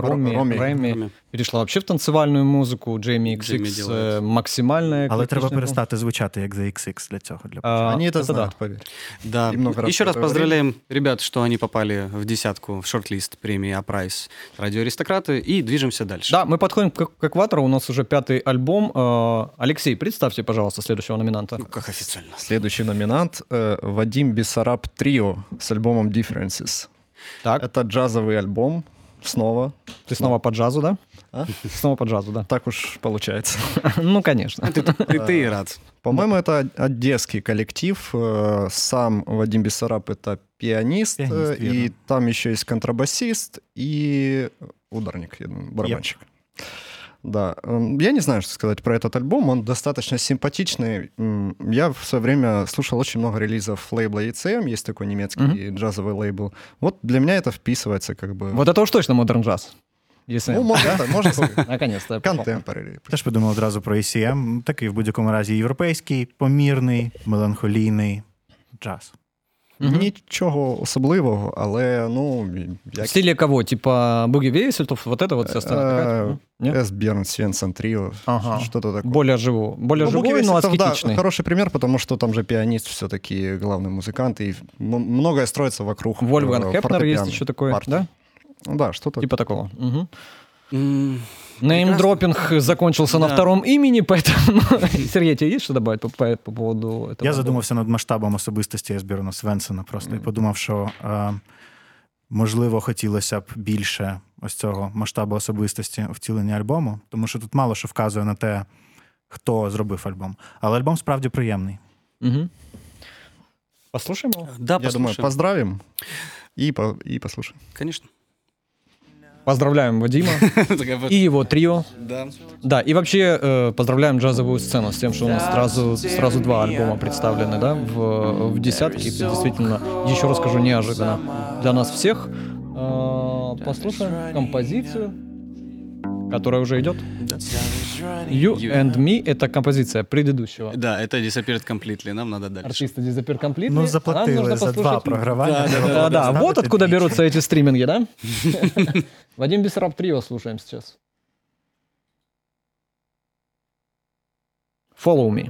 Ремі перешла вообще в танцевальную музыку. Джейми XX максимальная. Але треба перестати звучати як The XX для цього. Они это знают, поверь. Да. Еще раз поздравляем ребят, что они попали в десятку, в шорт-лист премии А-Прайс «Радио Аристократы», и движемся дальше. Да, мы подходим к экватору, у нас уже 5-й альбом. Алексей, представьте, пожалуйста, следующего номинанта. Ну, как официально. Следующий номинант Вадим Бессараб Трио с альбомом Differences. Так. Это джазовый альбом. Снова. Ты снова по джазу, да? А? Снова по джазу, да. Так уж получается. Ну, конечно. Ты и рад. По-моему, это одесский коллектив. Сам Вадим Бессараб — это пианист, и там еще есть контрабасист и ударник, я думаю, барабанщик. Да, я не знаю, что сказать про этот альбом, он достаточно симпатичный. Я в свое время слушал очень много релизов лейбла ECM, есть такой немецкий джазовый лейбл. Вот для меня это вписывается как бы... Вот это уж точно модерн джаз. Если... Ну, можно сказать. Наконец-то. Contemporary. Теж подумав одразу про ECM. Такий в будь-якому разі європейський, помірний, меланхолійний джаз. Нічого особливого, але, ну... В стиле кого? Типа Буги Вейсельтов, вот это вот вся страна? Эс Берн, Свенсон, Трио, что-то такое. Более живой, но аскетичный. Да, хороший пример, потому что там же пианист все-таки главный музыкант, и многое строится вокруг Вольфганг Хепнер есть еще такой, да? Да, что-то... Типа такого. Неймдропинг закончился на втором имени, поэтому... Сергей, тебе есть что добавить по поводу этого? Я задумався над масштабом особистості Есберна Свенсона просто і подумав, що, можливо, хотілося б більше ось цього масштабу особистості втілення альбому, тому що тут мало що вказує на те, хто зробив альбом. Але альбом справді приємний. Послушаем его? Да, Я думаю, поздравим и послушаем. Конечно. Поздравляем Вадима и его трио. Да. Да, и вообще поздравляем джазовую сцену с тем, что у нас сразу 2 альбома представлены, да, в десятке. Это действительно, еще раз скажу, неожиданно для нас всех. Послушаем композицию, которая уже идет. You and Me — это композиция предыдущего. Да, это Disappeared Completely, нам надо дальше. Артисты Disappeared Completely. Ну, заплатили за 2 програвання. Да, вот откуда берутся эти стриминги, да? Вадим Бессараб Трио слушаем сейчас. Follow Me.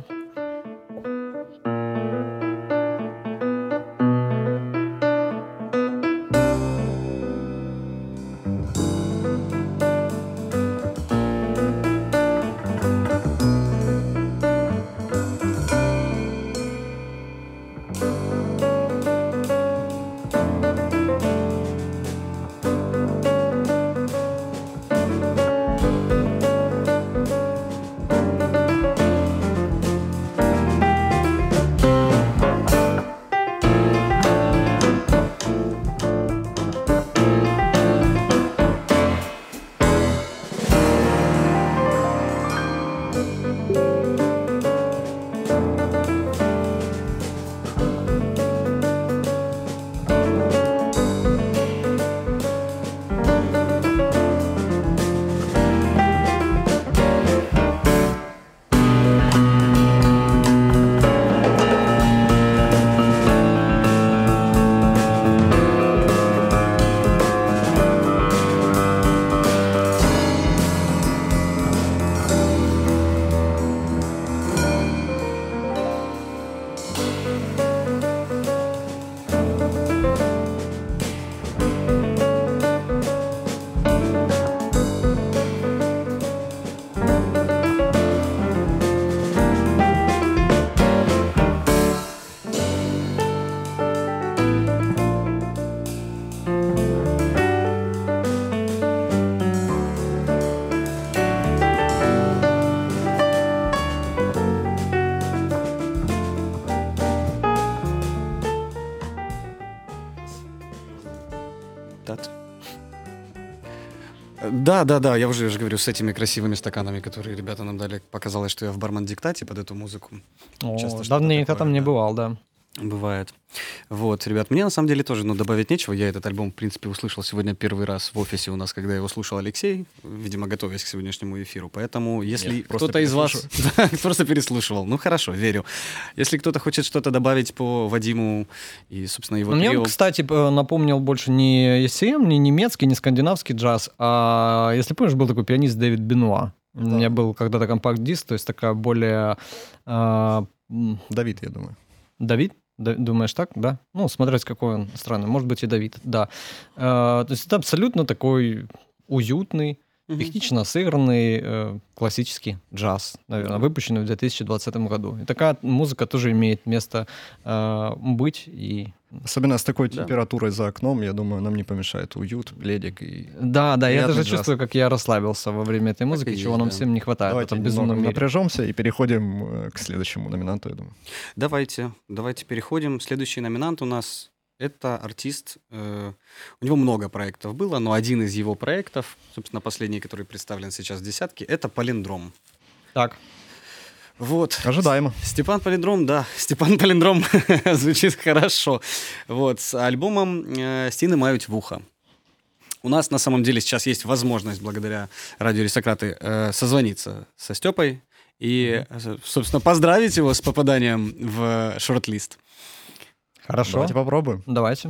Да, я уже говорю, с этими красивыми стаканами, которые ребята нам дали. Показалось, что я в бармен-диктате под эту музыку. Часто что-то Давненько такое, там не да. бывал, да. Бывает. Вот, ребят, мне на самом деле тоже, добавить нечего. Я этот альбом, в принципе, услышал сегодня первый раз в офисе у нас, когда его слушал Алексей, видимо, готовясь к сегодняшнему эфиру. Поэтому, если кто-то из вас просто переслушивал, ну хорошо, верю. Если кто-то хочет что-то добавить по Вадиму и, собственно, его Мне трио... он, кстати, напомнил больше не ECM, не немецкий, не скандинавский джаз, а, если помнишь, был такой пианист Дэвид Бенуа. У меня был когда-то компакт-диск, то есть такая более... Давид, я думаю. Давид? Думаешь так, да? Ну, смотреть, какой он странный. Может быть, и Давид, да. То есть это абсолютно такой уютный, технично сыгранный классический джаз, наверное, выпущенный в 2020 году. И такая музыка тоже имеет место быть. И... Особенно с такой температурой за окном, я думаю, нам не помешает уют, пледик и... Да, я даже джаз. чувствую, как я расслабился во время этой музыки, чего нам всем не хватает. Давайте в этом безумном мире. напряжемся и переходим к следующему номинанту, я думаю. Давайте переходим. Следующий номинант у нас это артист. У него много проектов было, но один из его проектов, собственно, последний, который представлен сейчас в десятке, это «Палиндром». Так. Вот. Ожидаемо. Степан Палиндром звучит хорошо. Вот, с альбомом «Стіни мають вуха». У нас на самом деле сейчас есть возможность, благодаря радио «Аристократы», созвониться со Степой и, собственно, поздравить его с попаданием в шорт-лист. Хорошо. Давайте попробуем. Давайте.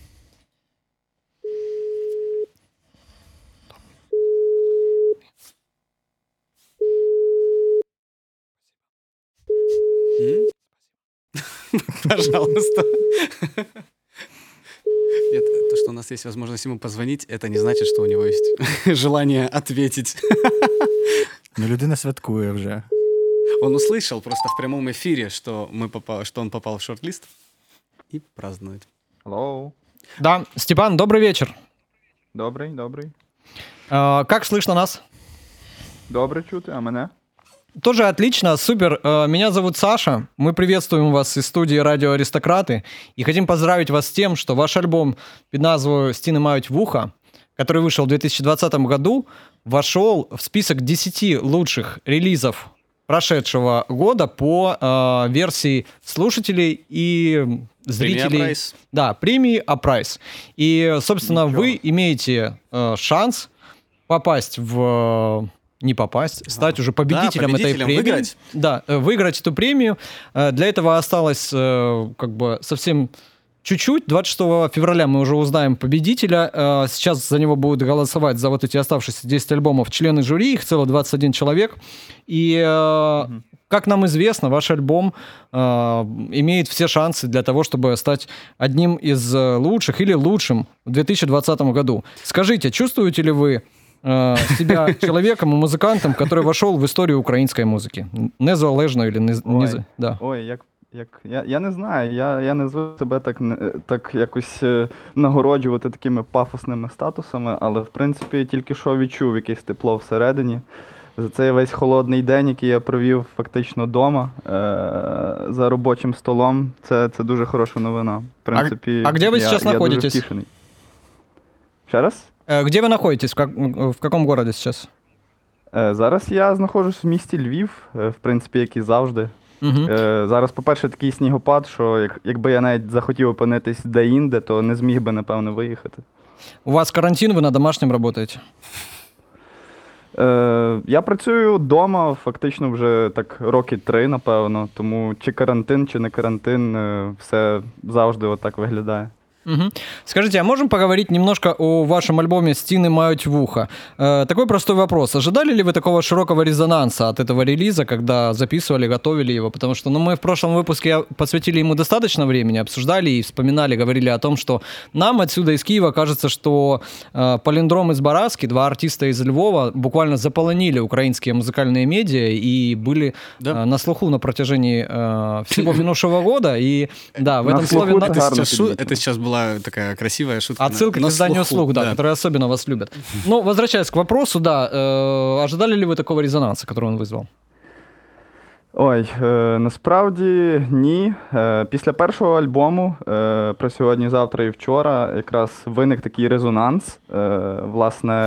Пожалуйста. Нет, то, что у нас есть возможность ему позвонить, это не значит, что у него есть желание ответить. Ну, людина святкує вже. Он услышал просто в прямом эфире, что он попал в шорт-лист и празднует. Hello. Да, Степан, добрый вечер. Добрий. Как слышно нас? Добре чути, а мене? Тоже отлично, супер. Меня зовут Саша. Мы приветствуем вас из студии «Радио Аристократы» и хотим поздравить вас с тем, что ваш альбом под назвою «Стіни мають вуха», который вышел в 2020 году, вошел в список 10 лучших релизов прошедшего года по версии слушателей и зрителей. Апрайс. Да, премии Апрайс. И, собственно, вы имеете шанс попасть в... Не попасть, стать уже победителем этой премии. Выиграть. Да, выиграть эту премию. Для этого осталось совсем чуть-чуть. 26 февраля мы уже узнаем победителя. Сейчас за него будут голосовать, за вот эти оставшиеся 10 альбомов, члены жюри, их целых 21 человек. И, как нам известно, ваш альбом имеет все шансы для того, чтобы стать одним из лучших или лучшим в 2020 году. Скажите, чувствуете ли вы себя человеком и музыкантом, который вошел в историю української музики? Незалежно или да. Ой, я не знаю, я не звик себе так якось нагороджувати такими пафосними статусами, але, в принципі, тільки що відчув якесь тепло всередині. За цей весь холодний день, який я провів фактично вдома, за робочим столом, це дуже хороша новина. В принципі, а де ви зараз знаходитесь? Я дуже втішений. Ще раз? Где вы находитесь? В каком городе сейчас? Зараз я знаходжусь в місті Львів, в принципі, як і завжди. Зараз, по-перше, такий снігопад, що якби я навіть захотів опинитись де-інде, то не зміг би, напевно, виїхати. У вас карантин, ви на домашньому працюєте? Я працюю вдома фактично вже так роки 3, напевно, тому чи карантин, чи не карантин, все завжди отак виглядає. Угу. Скажите, а можем поговорить немножко о вашем альбоме «Стіни мають вуха»? Такой простой вопрос. Ожидали ли вы такого широкого резонанса от этого релиза, когда записывали, готовили его? Потому что мы в прошлом выпуске посвятили ему достаточно времени, обсуждали и вспоминали, говорили о том, что нам отсюда из Киева кажется, что Палиндром и Збаразки, два артиста из Львова, буквально заполонили украинские музыкальные медиа и были на слуху на протяжении всего минувшего года. И да, в этом слове... Это сейчас была такая красивая шутка. Отсылка к изданию «Слух», да, которые особенно вас любят. Ну, возвращаясь к вопросу, да, ожидали ли вы такого резонанса, который он вызвал? Ой, насправді ні. Після першого альбому про сьогодні, завтра і вчора якраз виник такий резонанс. Власне,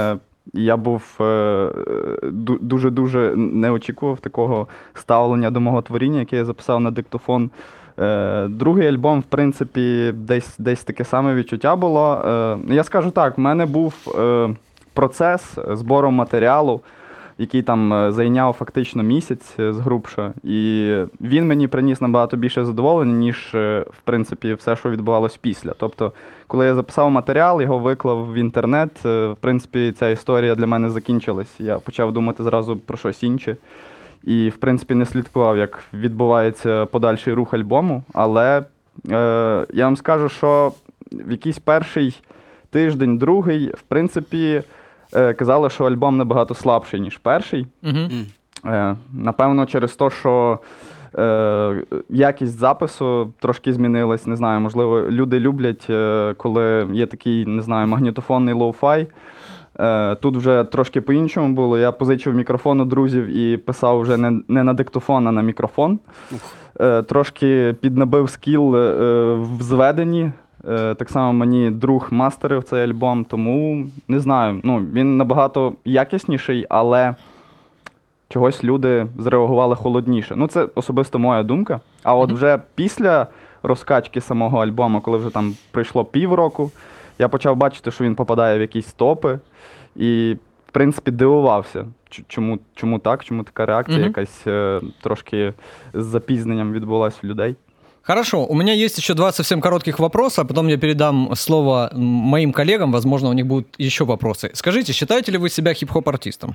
Я був дуже-дуже не очікував такого ставлення до мого творіння, яке я записав на диктофон. Другий альбом, в принципі, десь таке саме відчуття було. Я скажу так, в мене був процес збору матеріалу, який там зайняв фактично місяць згрубше. І він мені приніс набагато більше задоволення, ніж, в принципі, все, що відбувалось після. Тобто, коли я записав матеріал, його виклав в інтернет, в принципі, ця історія для мене закінчилась. Я почав думати зразу про щось інше. І, в принципі, не слідкував, як відбувається подальший рух альбому. Але я вам скажу, що в якийсь перший тиждень, другий, в принципі, казали, що альбом набагато слабший, ніж перший. Напевно, через те, що якість запису трошки змінилась. Не знаю, можливо, люди люблять, коли є такий, не знаю, магнітофонний лоу-фай. Тут вже трошки по-іншому було. Я позичив мікрофон у друзів і писав вже не на диктофон, а на мікрофон. Трошки піднабив скіл в зведенні. Так само мені друг мастерив цей альбом, тому не знаю. Він набагато якісніший, але чогось люди зреагували холодніше. Це особисто моя думка. А от вже після розкачки самого альбому, коли вже там пройшло півроку, я почав бачити, що він попадає в якісь топи. І, в принципі, дивувався, чому так, чому така реакція якась трошки з запізненням відбулась у людей. Хорошо, у меня есть еще 2 совсем коротких вопроса, а потом я передам слово моим коллегам, возможно, у них будут еще вопросы. Скажите, считаете ли вы себя хип-хоп-артистом?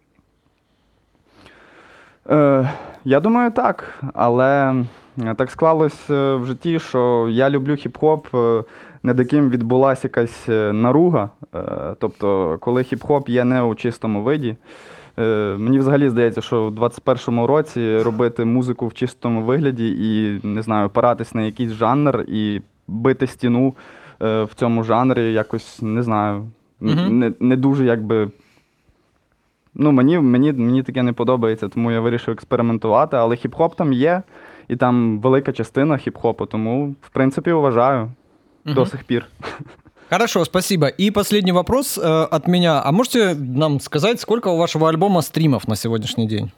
Я думаю, так, але так склалось в житті, що я люблю хіп-хоп, над яким відбулася якась наруга. Тобто, коли хіп-хоп є не у чистому виді. Мені взагалі здається, що в 21-му році робити музику в чистому вигляді і, не знаю, опиратись на якийсь жанр і бити стіну в цьому жанрі якось, не знаю, не дуже якби... Мені таке не подобається, тому я вирішив експериментувати, але хіп-хоп там є, і там велика частина хіп-хопу, тому, в принципі, вважаю до сих пір. Хорошо, спасибо. И последний вопрос от меня. А можете нам сказать, сколько у вашего альбома стримов на сегодняшний день?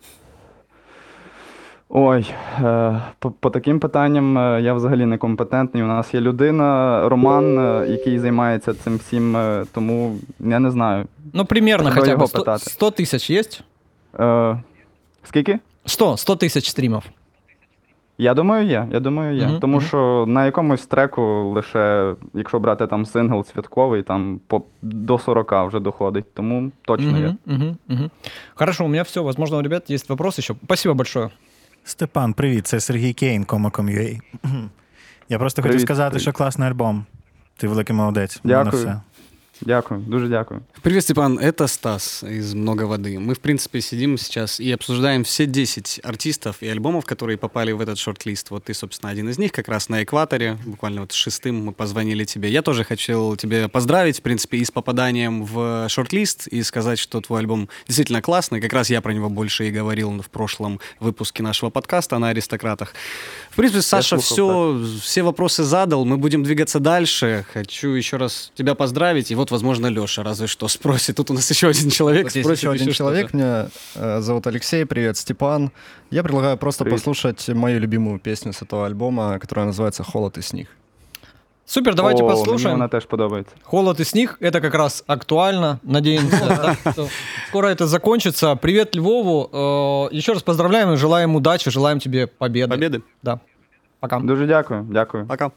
Ой, по таким питанням я взагалі не компетентний. У нас є людина, Роман, який займається цим всім, тому я не знаю. Примерно хотя бы 100 тысяч есть? Скільки? 100 тысяч стримов. Я думаю, є. Тому що на якомусь треку лише, якщо брати там сингл святковий, там до 40 вже доходить. Тому точно є. Хорошо, у меня все. Возможно, у ребят есть вопрос еще. Спасибо большое. Степан, привіт, це Сергій Кейн, Кома.com.ua. Я просто хотів сказати, що класний альбом. Ти великий молодець. Дякую. Дякую, дуже дякую. Привет, Степан, это Стас из «Много воды». Мы, в принципе, сидим сейчас и обсуждаем все 10 артистов и альбомов, которые попали в этот шорт-лист. Вот ты, собственно, один из них, как раз на экваторе, буквально вот 6-м мы позвонили тебе. Я тоже хотел тебя поздравить, в принципе, и с попаданием в шорт-лист, и сказать, что твой альбом действительно классный. Как раз я про него больше и говорил в прошлом выпуске нашего подкаста на «Аристократах». В принципе, Саша все вопросы задал, мы будем двигаться дальше. Хочу еще раз тебя поздравить, и вот, возможно, Леша разве что спросит. Тут у нас еще один человек вот спросит. Есть еще один человек, меня зовут Алексей, привет, Степан. Я предлагаю просто послушать мою любимую песню с этого альбома, которая называется «Холод и снег». Супер, давайте послушаем. Мне она тоже подобается. «Холод и снег» — это как раз актуально. Надеемся, что скоро это закончится. Привет Львову. Еще раз поздравляем и желаем удачи, желаем тебе победы. Победы. Да. Пока. Дуже дякую. Пока.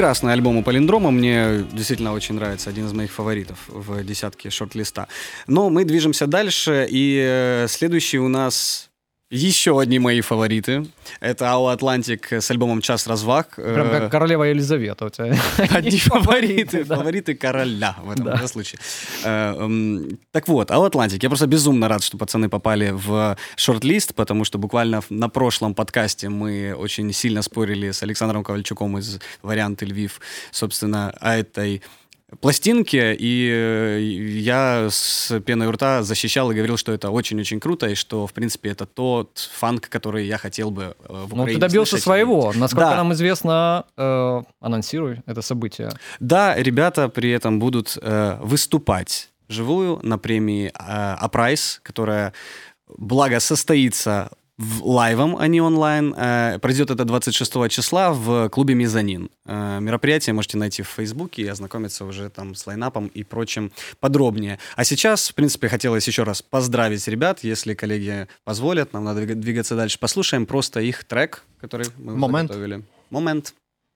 прекрасный альбом у Палиндрома. Мне действительно очень нравится. Один из моих фаворитов в десятке шорт-листа. Но мы движемся дальше. И следующий у нас... Еще одни мои фавориты. Это Ау Атлантик с альбомом «Час разваг». Прям как королева Елизавета у тебя. Одни фавориты. Фавориты короля в этом случае. Так вот, Ау Атлантик. Я просто безумно рад, что пацаны попали в шорт-лист, потому что буквально на прошлом подкасте мы очень сильно спорили с Александром Ковальчуком из «Варианты Львив», собственно, о этой пластинки, и я с пеной у рта защищал и говорил, что это очень-очень круто, и что, в принципе, это тот фанк, который я хотел бы в Украине. Ну, ты добился своего. Насколько да. нам известно, анонсируй это событие. Да, ребята при этом будут выступать вживую на премии «Апрайс», которая, благо, состоится лайвом, а не онлайн. Пройдет это 26 числа в клубе «Мезонин». Мероприятие можете найти в Фейсбуке и ознакомиться уже там с лайнапом и прочим подробнее. А сейчас, в принципе, хотелось еще раз поздравить ребят, если коллеги позволят, нам надо двигаться дальше. Послушаем просто их трек, который мы заготовили. «Момент».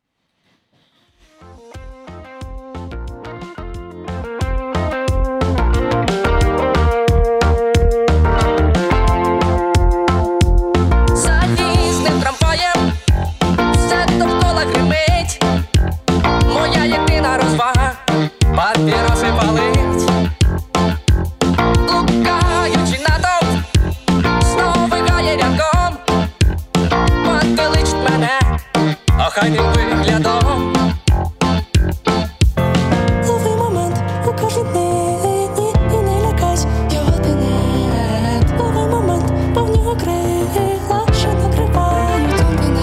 Папіроси палить, блукаючи натовп, знов вигає рядком, пантеличить мене охайним виглядом. Лови момент у кожній дні і не лякайсь його тенет. Лови момент, бо в нього крила, що накривають мене.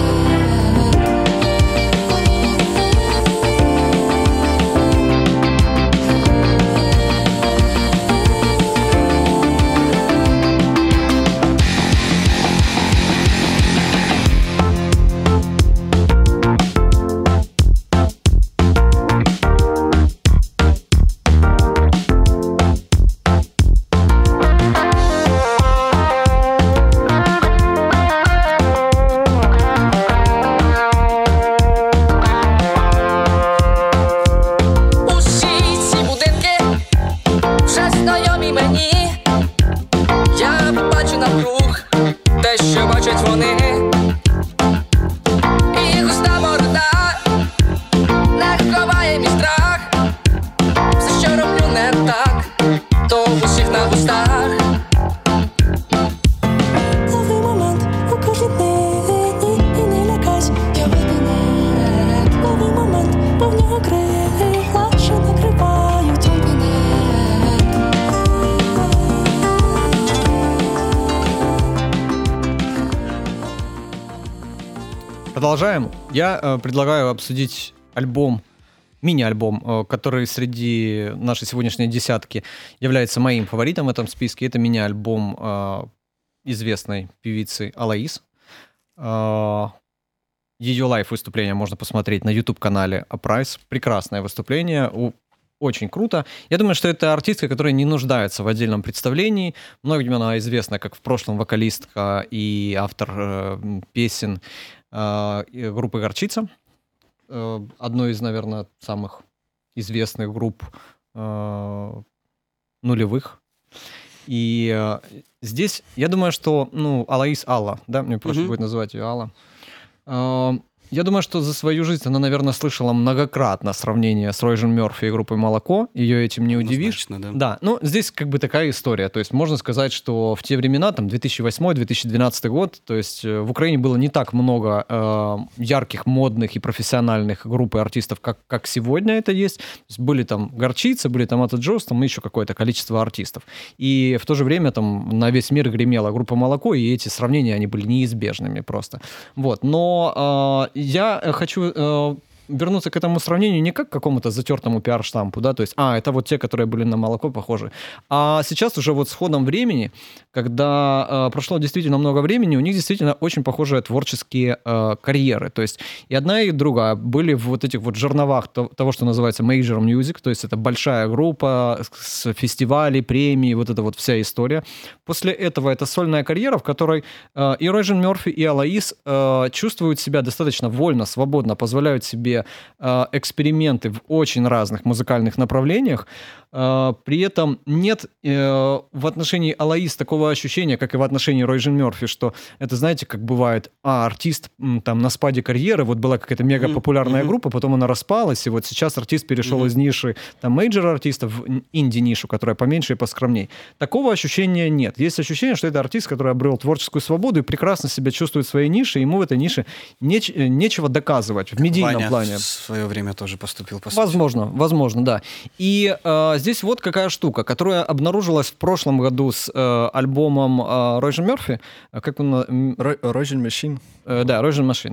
Продолжаем. Я предлагаю обсудить альбом, мини-альбом, который среди нашей сегодняшней десятки является моим фаворитом в этом списке. Это мини-альбом известной певицы Алаис. Ее лайв-выступление можно посмотреть на YouTube-канале Апрайс. Прекрасное выступление, очень круто. Я думаю, что это артистка, которая не нуждается в отдельном представлении. Многим она известна как в прошлом вокалистка и автор песен группы «Горчица». Одной из, наверное, самых известных групп нулевых. И здесь, я думаю, что, Алаис Алла, да, мне проще будет называть ее Алла. Я думаю, что за свою жизнь она, наверное, слышала многократно сравнение с Ройжен Мёрфи и группой «Молоко». Ее этим не удивишь. Да, здесь как бы такая история. То есть можно сказать, что в те времена, там, 2008-2012 год, то есть в Украине было не так много ярких, модных и профессиональных групп и артистов, как сегодня это есть. То есть были там «Горчица», были там «Ата Джоз», там еще какое-то количество артистов. И в то же время там на весь мир гремела группа «Молоко», и эти сравнения, они были неизбежными просто. Вот. Но я хочу вернуться к этому сравнению не как к какому-то затертому пиар-штампу, да, то есть, это вот те, которые были на «Молоко», похожи. А сейчас уже вот с ходом времени, когда прошло действительно много времени, у них действительно очень похожие творческие карьеры. То есть и одна, и другая были в вот этих вот жерновах того, что называется major music, то есть это большая группа с фестивалей, премий, вот эта вот вся история. После этого это сольная карьера, в которой и Ройжен Мёрфи, и Алаис чувствуют себя достаточно вольно, свободно, позволяют себе такие эксперименты в очень разных музыкальных направлениях. При этом нет в отношении Алоис такого ощущения, как и в отношении Ройжен Мерфи, что это, знаете, как бывает, артист там на спаде карьеры, вот была какая-то мега популярная группа, потом она распалась, и вот сейчас артист перешел из ниши там мейджор-артиста в инди-нишу, которая поменьше и поскромней. Такого ощущения нет. Есть ощущение, что это артист, который обрел творческую свободу и прекрасно себя чувствует в своей нише, и ему в этой нише нечего доказывать в медийном Ваня плане. в свое время тоже поступил, по сути. Возможно, да. И здесь вот какая штука, которая обнаружилась в прошлом году с альбомом Ройжен Мерфи. Как он? Ройжен Machine. Да, Ройжен Machine,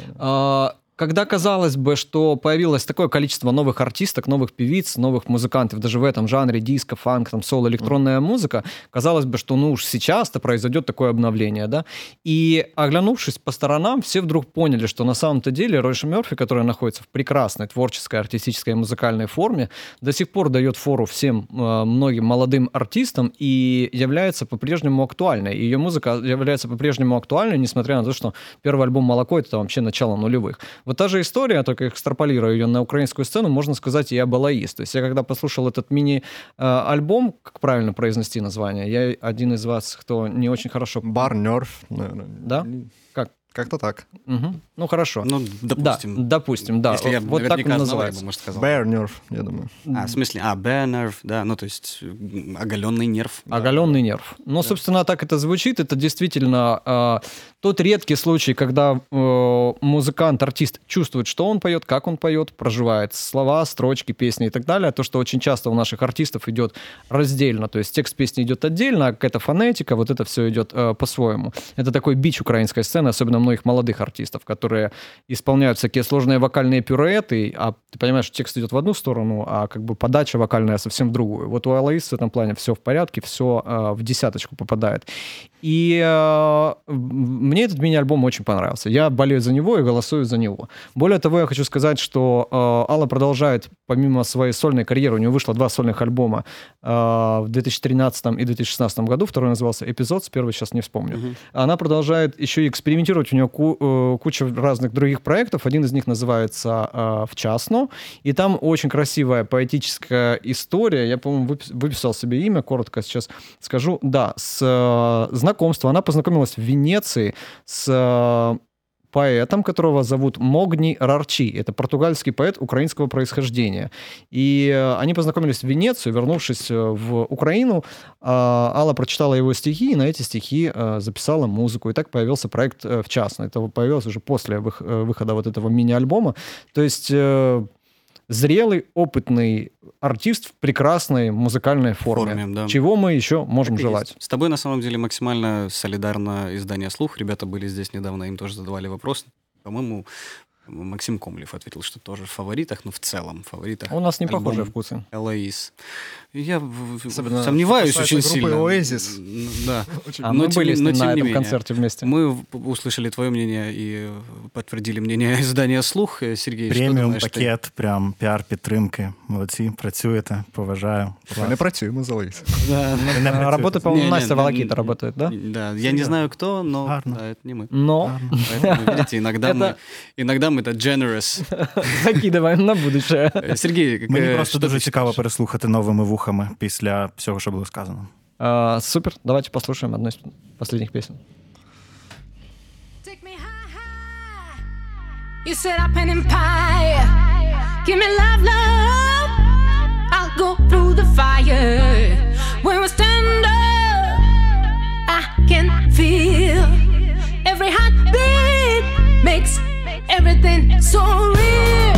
да. Когда казалось бы, что появилось такое количество новых артисток, новых певиц, новых музыкантов, даже в этом жанре диско, фанк, там, соло, электронная музыка, казалось бы, что уж сейчас-то произойдет такое обновление, да? И оглянувшись по сторонам, все вдруг поняли, что на самом-то деле Ройжен Мерфи, которая находится в прекрасной творческой, артистической и музыкальной форме, до сих пор дает фору всем многим молодым артистам и является по-прежнему актуальной. Ее музыка является по-прежнему актуальной, несмотря на то, что первый альбом «Молоко» — это вообще начало нулевых. Вот та же история, только экстраполируя ее на украинскую сцену, можно сказать и об Алоис. То есть я когда послушал этот мини-альбом, как правильно произнести название, я один из вас, кто не очень хорошо... Бар Нерф, наверное. Да? Как? Как-то так. Угу. Ну, хорошо. Ну, допустим. Да, допустим, да. Если я вот так он знал, называется. я бы, может, сказал. Bear Nerve, я думаю. В смысле, Bear Nerve, да, ну, то есть оголенный нерв. Оголенный нерв. Ну, собственно, так это звучит. Это действительно тот редкий случай, когда музыкант, артист чувствует, что он поет, как он поет, проживает слова, строчки, песни и так далее. То, что очень часто у наших артистов идет раздельно. То есть текст песни идет отдельно, а какая-то фонетика, вот это все идет по-своему. Это такой бич украинской сцены, особенно многих молодых артистов, которые исполняют всякие сложные вокальные пируэты, а ты понимаешь, что текст идет в одну сторону, а как бы подача вокальная совсем в другую. Вот у Алоис в этом плане все в порядке, все в десяточку попадает. И мне этот мини-альбом очень понравился. Я болею за него и голосую за него. Более того, я хочу сказать, что Алла продолжает, помимо своей сольной карьеры, у нее вышло 2 сольных альбома в 2013 и 2016 году. Второй назывался «Эпизод», первый сейчас не вспомню. Она продолжает еще и экспериментировать. У нее куча разных других проектов. Один из них называется «Вчасно». И там очень красивая поэтическая история. Я, по-моему, выписал себе имя, коротко сейчас скажу. Да, с знакомства. Она познакомилась в Венеции с поэтом, которого зовут Могни Рарчи. Это португальский поэт украинского происхождения. И они познакомились в Венецию, вернувшись в Украину. Алла прочитала его стихи, и на эти стихи записала музыку. И так появился проект «Вчасно». Это появилось уже после выхода вот этого мини-альбома. То есть зрелый, опытный артист в прекрасной музыкальной форме. Да. Чего мы еще можем желать? Есть. С тобой, на самом деле, максимально солидарно издание «Слух». Ребята были здесь недавно, им тоже задавали вопрос. По-моему, Максим Комлев ответил, что тоже в фаворитах, но в целом в фаворитах. У нас не похожие вкусы. Алоис. Я сомневаюсь очень сильно. Оазис. Да. Мы были на этом концерте вместе. Мы услышали твое мнение и подтвердили мнение издання «Слух». Сергій, преміум пакет, прям піар-підтримки. Молодці, працюєте, поважаю. Ми не працюємо за Алоис. Работа, по-моему, Настя Волокита работает, да? Да, я не знаю, кто, но это не мы. Но. Поэтому, видите, иногда ми так generous. Закидываем на будущее. Сергій, мені просто дуже цікаво переслухати новими вухами після всього, що було сказано. Супер, давайте послушаем одну из последних песен. You set up an empire. Give me love, love. I'll go through the fire. When we stand up, I can feel every heartbeat makes everything so real.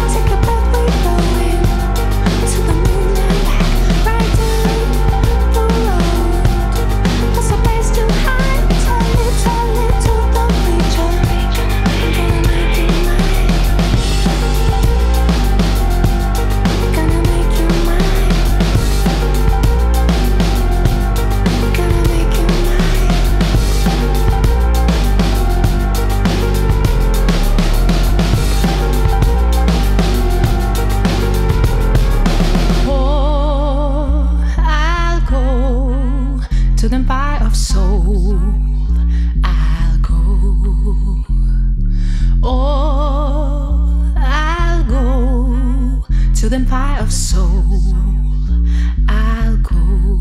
Take a breath, we go in to the moonlight, right down soul, I'll go. Or I'll go to the empire of soul, I'll go.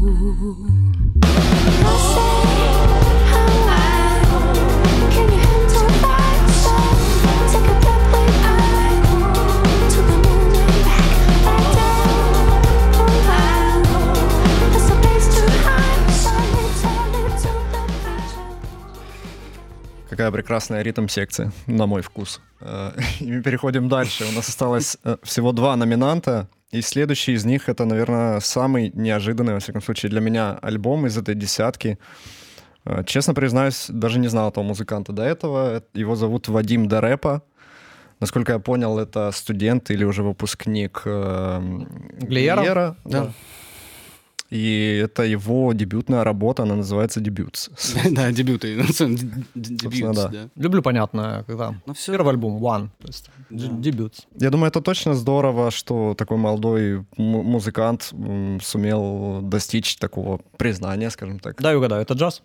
Can you handle my soul? Take a breath when I go to the moon and back down. I'll go. There's a place to hide, so turn to the future. Какая прекрасная ритм-секция, на мой вкус. И мы переходим дальше. У нас осталось всего 2 номинанта. И следующий из них — это, наверное, самый неожиданный, во всяком случае, для меня альбом из этой десятки. Честно признаюсь, даже не знал этого музыканта до этого. Его зовут Вадим Дарепа. Насколько я понял, это студент или уже выпускник Глиера. Да. И это его дебютная работа, она называется «Дебютс». Да, дебюты. Дебют, да. да. Люблю, понятно, когда Ну, всё. первый альбом One, то есть дебют. Я думаю, это точно здорово, что такой молодой музыкант сумел достичь такого признания, скажем так. Дай угадаю, это джаз?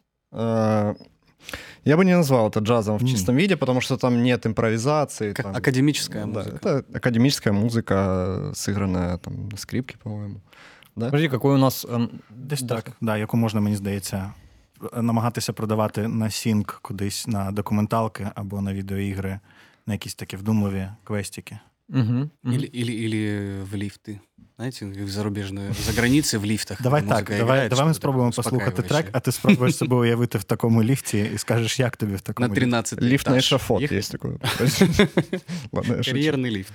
Я бы не назвал это джазом в чистом виде, потому что там нет импровизации. Как там, академическая да, музыка. это академическая музыка, сыгранная там на скрипке, по-моему. Да? Подожди, какой у нас... Десь так, да, яку можна, мені здається, намагатися продавати на сінк кудись на документалки або на відеоігри, на якісь такі вдумливі квестики. Мгм, мгм. Или в лифты. Знаете, в зарубежную, за границей в лифтах. Давай музыка так, играет, давай ми что-то спробуємо такое послухати трек, успокаивающее. а ти спробуєш себе уявити в такому ліфті і скажеш, як тобі в такому На ліфті. 13 Лифт на этаж. эшафот Ехать. есть такой. Ладно, я шучу. Карьерный лифт.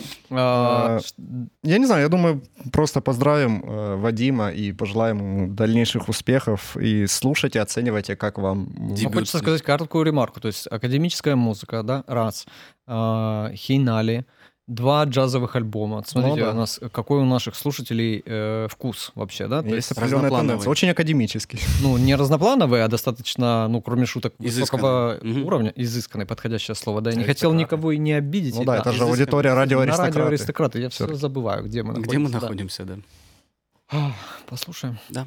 Я не знаю, я думаю, просто поздравим Вадима и пожелаем ему дальнейших успехов. И слушайте, оценивайте, как вам. Ну, хочется сказать короткую ремарку. То есть академическая музыка, да, раз. Хейнали, 2 джазовых альбома. Вот смотрите, Ну, да. у нас, какой у наших слушателей вкус вообще, да? То Есть есть, определенная разноплановый. тенденция. Очень академический. ну, не разноплановый, а достаточно, ну, кроме шуток, высокого Изысканный. Мгм. уровня. Изысканный, подходящее слово. Да, я не хотел никого и не обидеть. Ну и да, это же аудитория на радиоаристократы. радио аристократы. Я все забываю, где мы находимся. Где мы да. находимся, да. Послушаем. Да.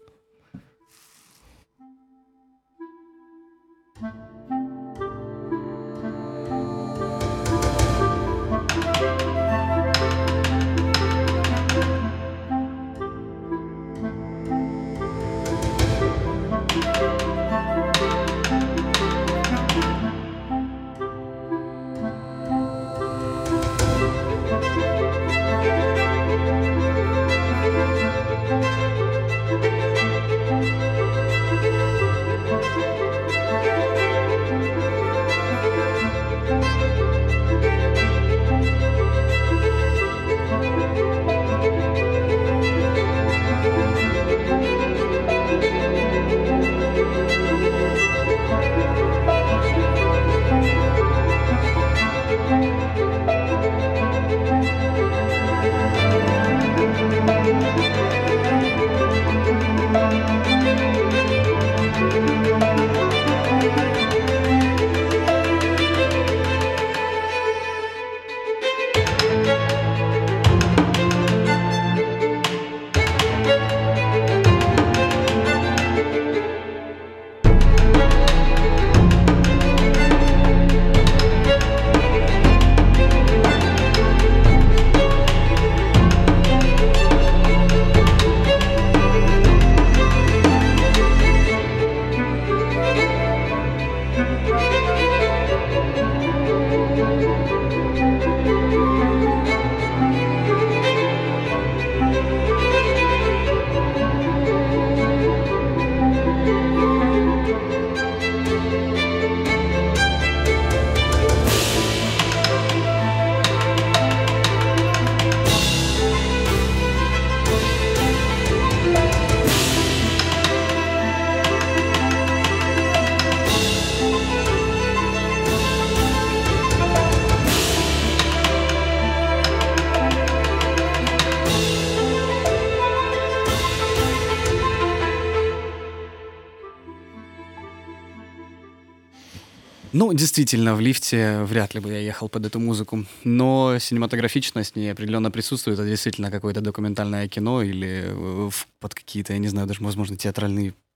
Ну, действительно, в лифте вряд ли бы я ехал под эту музыку. Но синематографичность в ней определенно присутствует. Это действительно какое-то документальное кино или под какие-то, я не знаю, даже, возможно, театральные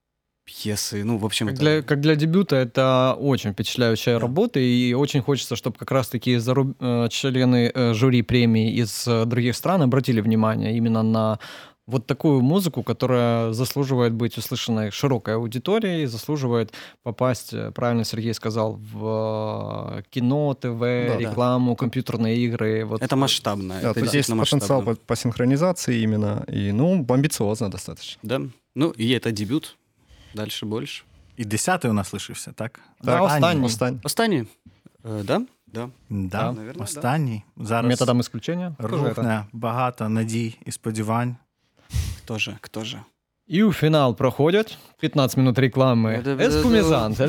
пьесы, ну, в общем... Как для дебюта это очень впечатляющая работа, и очень хочется, чтобы как раз-таки члены жюри премии из других стран обратили внимание именно на вот такую музыку, которая заслуживает быть услышанной широкой аудиторией, заслуживает попасть, правильно Сергей сказал, в кино, ТВ, рекламу, компьютерные игры. Вот. Это масштабно. Да, это тут есть потенциал по синхронизации именно, и, ну, амбициозно достаточно. Да, ну, и это дебют, дальше больше. І 10-й у нас лишився, так? Да, Останній. Да? Да, Наверное, останній. Зараз методом исключения. рухне багато надій і сподівань. Хто же? І у фінал проходять 15 минут реклами. Ескумізант.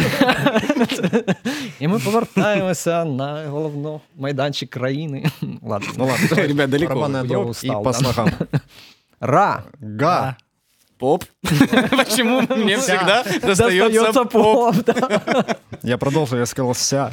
І ми повертаємося на головний майданчик країни. Ладно. Ребят, далеко. Барабанная дробь и по слогам. Ра. Га. Поп. Почему мне всегда достается поп? Я продолжу, я сказал ся.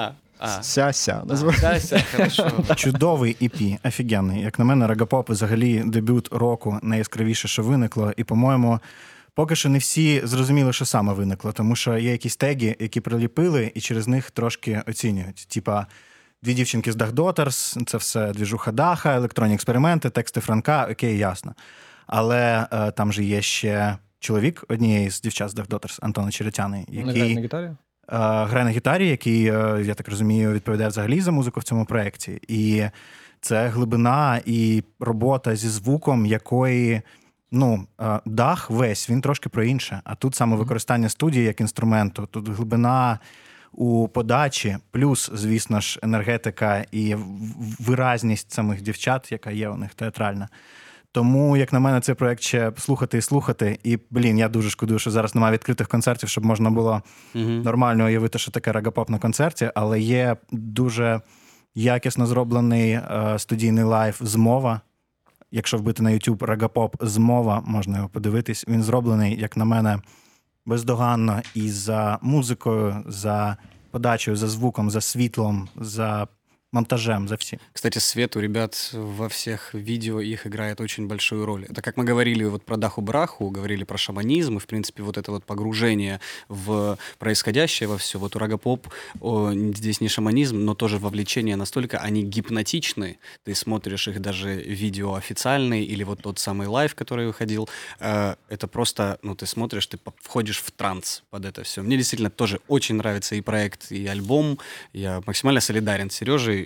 Ся, хорошо. Чудовий EP, офігенний. Як на мене, рагапоп взагалі дебют року найяскравіше, що виникло. І, по-моєму, поки що не всі зрозуміли, що саме виникло. Тому що є якісь теги, які приліпили, і через них трошки оцінюють. Типа, дві дівчинки з Dach Daughters, це все двіжуха Даха, електронні експерименти, тексти Франка, окей, ясно. Але там же є ще чоловік однієї з дівчат з Dach Daughters, Антона Черетяни, який... на гітарі? Грає на гітарі, який, я так розумію, відповідає взагалі за музику в цьому проєкті. І це глибина і робота зі звуком, якої, ну, Дах весь, він трошки про інше. А тут саме використання студії як інструменту, тут глибина у подачі, плюс, звісно ж, енергетика і виразність самих дівчат, яка є у них театральна. Тому, як на мене, цей проєкт ще слухати і слухати. І, я дуже шкодую, що зараз немає відкритих концертів, щоб можна було нормально уявити, що таке рагапоп на концерті. Але є дуже якісно зроблений студійний лайв «Змова». Якщо вбити на YouTube рагапоп «Змова», можна його подивитись. Він зроблений, як на мене, бездоганно і за музикою, за подачею, за звуком, за світлом, за монтажем, за всем. Кстати, свет у ребят во всех видео их играет очень большую роль. Это как мы говорили вот про Даху-Браху, говорили про шаманизм, и, в принципе, вот это вот погружение в происходящее во все. Вот у рагапоп здесь не шаманизм, но тоже вовлечение настолько, они гипнотичны. Ты смотришь их даже видео официальные, или вот тот самый лайв, который выходил. Это просто, ну, ты смотришь, ты входишь в транс под это все. Мне действительно тоже очень нравится и проект, и альбом. Я максимально солидарен с Сережей.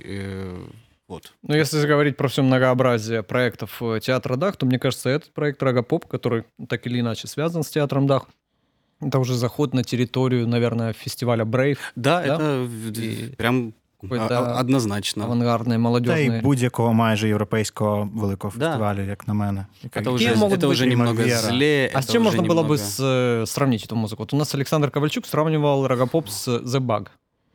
Вот. Ну, если говорить про все многообразие проектов театра Дах, то, мне кажется, этот проект Рагапоп, который так или иначе связан с театром Дах, это уже заход на территорию, наверное, фестиваля Brave. Да? Это прям однозначно. Авангардний, молодежний. Та й будь-якого майже європейського великого фестивалю, як на мене. Это уже немного зле. А с чем можно было бы сравнить эту музыку? Вот у нас Александр Ковальчук сравнивал Рагапоп с The Bug.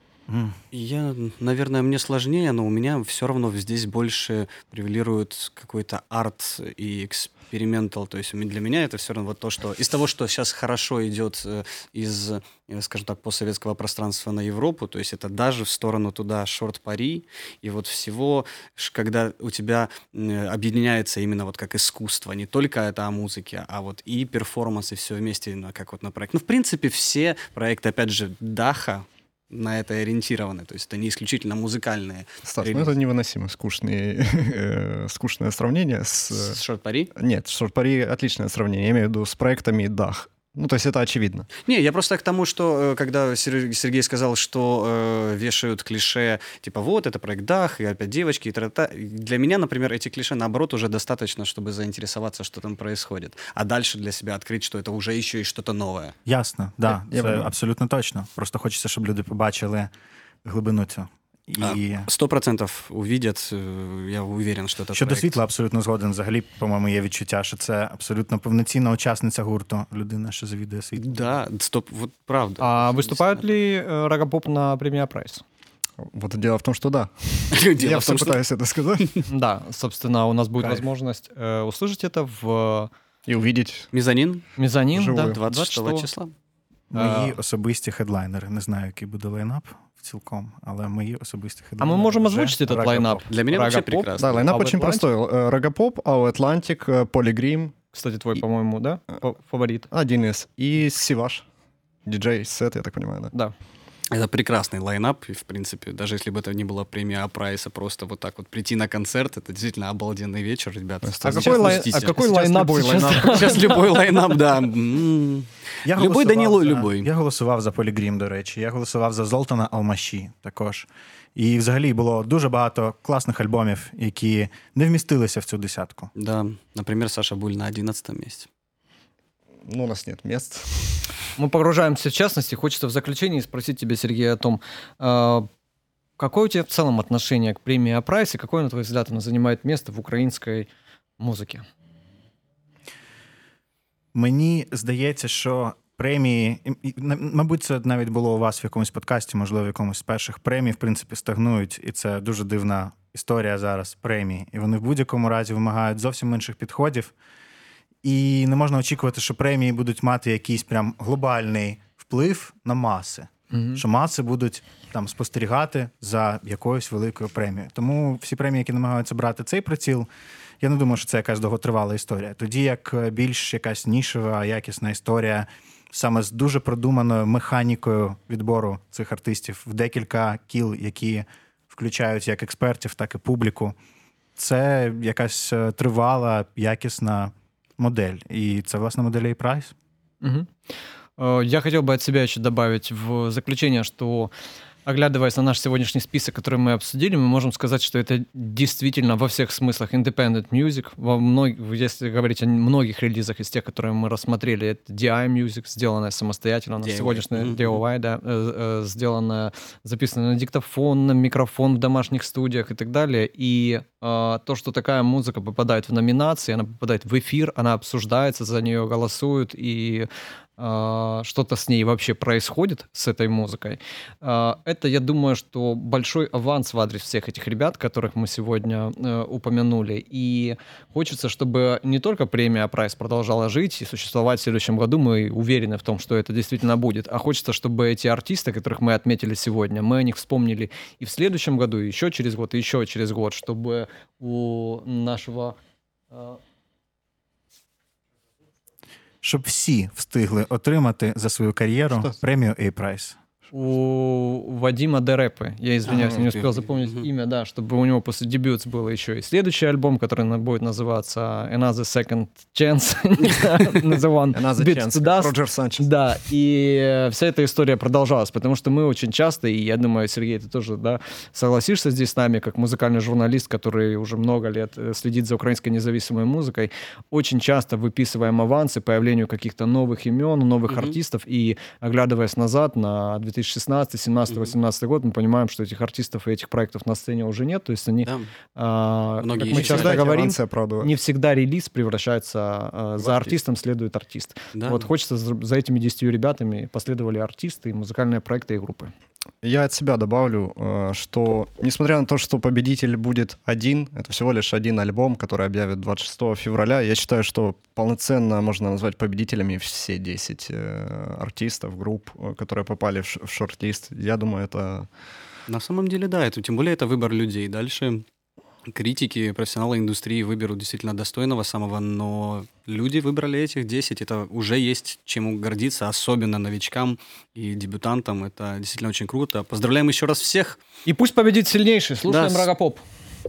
Наверное, мне сложнее, но у меня все равно здесь больше превалирует какой-то арт и экспериментал. То есть для меня это все равно вот то, что из того, что сейчас хорошо идет из, скажем так, постсоветского пространства на Европу, то есть это даже в сторону туда шорт-пари, и вот всего, когда у тебя объединяется именно вот как искусство, не только это о музыке, а вот и перформанс, и все вместе, как вот на проект. Ну, в принципе, все проекты, опять же, Даха, на это ориентированы, то есть это не исключительно музыкальные. Стас, ну это невыносимо скучное сравнение с шорт-пари? Нет, шорт-пари отличное сравнение, я имею в виду с проектами Дах. Ну, то есть это очевидно. Не, я просто к тому, что когда Сергей сказал, что вешают клише, типа вот, это проект Дах, и опять девочки, и та-та-та. Для меня, например, эти клише, наоборот, уже достаточно, чтобы заинтересоваться, что там происходит. А дальше для себя открыть, что это уже еще и что-то новое. Ясно, да, це абсолютно точно. Просто хочеться, щоб люди побачили глибину цього. І 100% увидять, я уверен, що це щодо світла абсолютно згоден. Взагалі, по-моєму, є відчуття, що це абсолютно повноцінна учасниця гурту, людина, що завідує світлом. Да, вот правда. А выступает ли Рагапоп на премии Прайс? Вот дело в том, что да. Я все пытаюсь это сказать. Да, собственно, у нас будет возможность услышать это и увидеть. Мезонин, да, 26 числа. Мої особисті хедлайнери. Не знаю, який буде лайнап цілком, але мої особисті хедлайнери. А мы можем озвучить этот лайнап? Для меня вообще прекрасно. Да, лайнап очень простой. Рагапоп, Ау Атлантик, Полигрим, кстати, твой, по-моему, да, фаворит? Один из. И Сиваш, диджей-сет, я так понимаю, да? Да. Это прекрасный лайнап, и, в принципе, даже если бы это не была премия А-прайса, просто вот так вот прийти на концерт, это действительно обалденный вечер, ребята. А какой лайнап сейчас? Сейчас любой лайнап, да. Любой Даніло, любой. Я голосував за Полігрім, до речі. Я голосував за Золтана Алмаші також. І взагалі було дуже багато класних альбомів, які не вмістилися в цю десятку. Да, например, Саша Буль на 11 месте. Ну, у нас нет мест. Мы погружаемся в частности. Хочется в заключении спросить тебя, Сергей, о том, какое у тебя в целом отношение к премии А-прайс, и какое, на твой взгляд, она занимает место в українській музиці? Мені здається, що премії, мабуть, це навіть було у вас в якомусь подкасті, можливо, в якомусь з перших, премії, в принципі, стагнують, і це дуже дивна історія зараз премії. І вони в будь-якому разі вимагають зовсім інших підходів. І не можна очікувати, що премії будуть мати якийсь прям глобальний вплив на маси. Що маси будуть там спостерігати за якоюсь великою премією. Тому всі премії, які намагаються брати цей приціл, я не думаю, що це якась довготривала історія. Тоді як більш якась нішева, якісна історія, саме з дуже продуманою механікою відбору цих артистів в декілька кіл, які включають як експертів, так і публіку, це якась тривала, якісна модель. И это, власне, модель A-Price. Я хотел бы от себя еще добавить в заключение, что, оглядываясь на наш сегодняшний список, который мы обсудили, мы можем сказать, что это действительно во всех смыслах independent music. Если говорить о многих релизах из тех, которые мы рассмотрели, это DI Music, сделанная самостоятельно, сегодняшняя DIY, да, сделанная, записанная на диктофон, на микрофон в домашних студиях и так далее. И то, что такая музыка попадает в номинации, она попадает в эфир, она обсуждается, за нее голосуют, и что-то с ней вообще происходит, с этой музыкой. Это, я думаю, что большой аванс в адрес всех этих ребят, которых мы сегодня упомянули. И хочется, чтобы не только премия А-прайс продолжала жить и существовать в следующем году, мы уверены в том, что это действительно будет, а хочется, чтобы эти артисты, которых мы отметили сегодня, мы о них вспомнили и в следующем году, и еще через год, и еще через год, чтобы у нашего... Щоб всі встигли отримати за свою кар'єру премію A-Price. У Вадима Дерепы, я извиняюсь, не успел запомнить имя, да, чтобы у него после дебют был еще и следующий альбом, который будет называться Another Second Chance, Another Chance, Роджер Санчес. Да, и вся эта история продолжалась, потому что мы очень часто, и я думаю, Сергей, ты тоже, да, согласишься здесь с нами, как музыкальный журналист, который уже много лет следит за украинской независимой музыкой, очень часто выписываем авансы появлению каких-то новых имен, новых артистов, и оглядываясь назад на 2016, 17, 18 год, мы понимаем, что этих артистов и этих проектов на сцене уже нет. То есть они, как мы часто говорим, не всегда релиз превращается, за артистом следует артист. Да. Вот хочется за этими 10 ребятами последовали артисты, музыкальные проекты и группы. Я от себя добавлю, что несмотря на то, что победитель будет один, это всего лишь один альбом, который объявят 26 февраля, я считаю, что полноценно можно назвать победителями все 10 артистов, групп, которые попали в шорт-лист. Я думаю, это... На самом деле, да, тем более это выбор людей. Дальше критики, профессионалы индустрии выберут действительно достойного самого, но люди выбрали этих 10. Это уже есть чему гордиться, особенно новичкам и дебютантам. Это действительно очень круто. Поздравляем еще раз всех. И пусть победит сильнейший. Слушаем Рогопоп.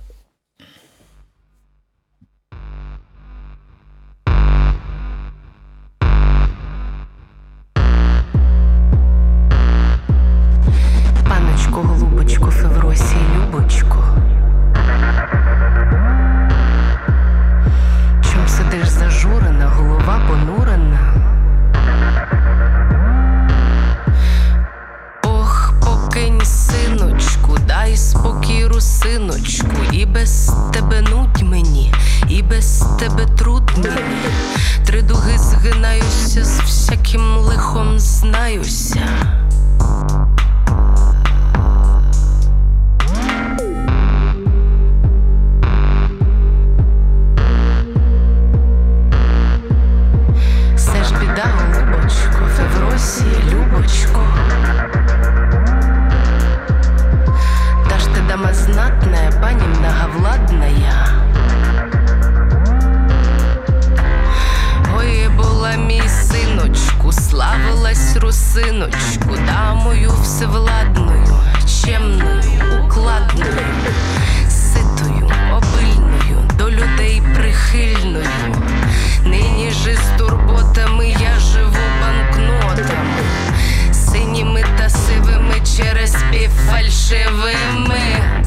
Паночко, голубочко, Февросі, Любочко. Чом сидиш зажурена, голова понурена? Ох, покинь, синочку, дай спокій, русиночку. І без тебе нудь мені, і без тебе труд мені. Три дуги згинаюся, з всяким лихом знаюся. Любочко, дашь ты дама знатная, пани многовладная. русиночку, дамою всевладною, чемною, укладною, ситою, обильною, до людей прихильною. Нині ж із турботами я живу банкнотами, синіми та сивими через півфальшивими.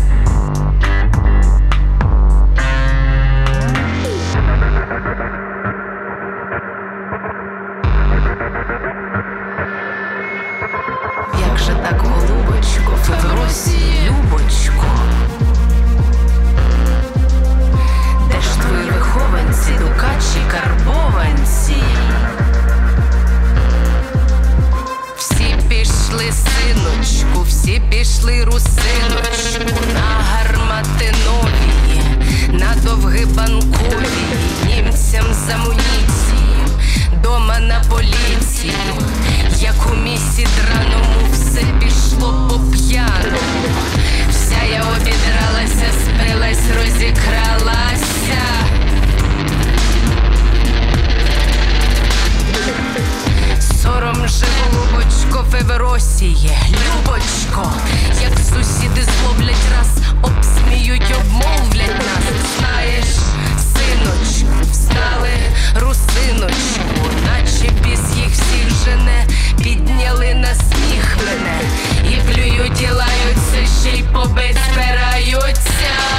Як же так, голубочко, Февросії, любочко? Де ж твої вихованці, дукачі, карбованці? Всі пішли, синочку, всі пішли, русиночку, на гармати нові, на довги банкові, німцям з амуніцією, дома на поліцію. Як у місі драному все пішло по п'яному. Вся я обідралася, спилась, розікралася. Сором же, голубочко, Феверосіє, любочко, як сусіди зловлять раз, обсміють, обмовлять нас. Знаєш, синочку, встали, русиночку, наче біс їх всіх жене, підняли на сміх мене, і плюють, і лаються, ще й побить збираються.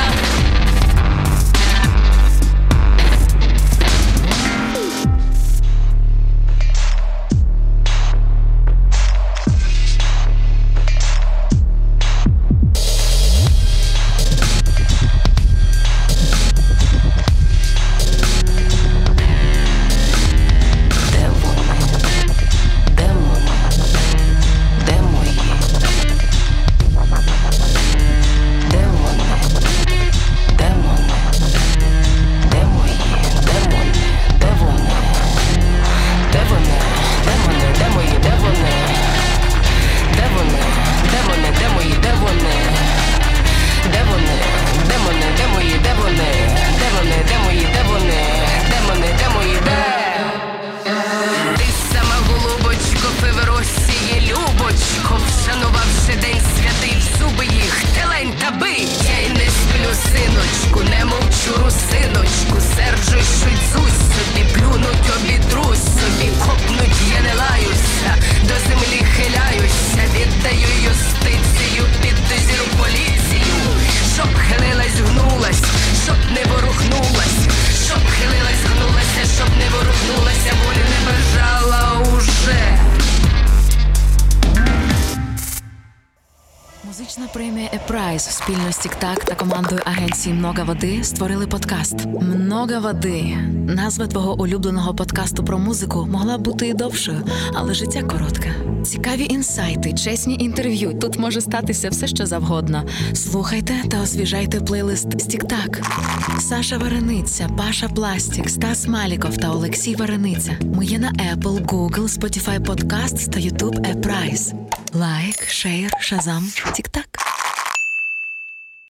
Музична премія «Епрайс» спільно з Тік-Так та командою агенції «Много води» створили подкаст «Много води». Назва твого улюбленого подкасту про музику могла б бути і довшою, але життя коротке. Цікаві інсайти, чесні інтерв'ю. Тут може статися все, що завгодно. Слухайте та освіжайте плейлист з Тік-Так. Саша Варениця, Паша Пластік, Стас Маліков та Олексій Варениця. Ми є на Apple, Google, Spotify Podcasts та YouTube «Епрайс». Лайк, шейр, шазам, Тік-Так.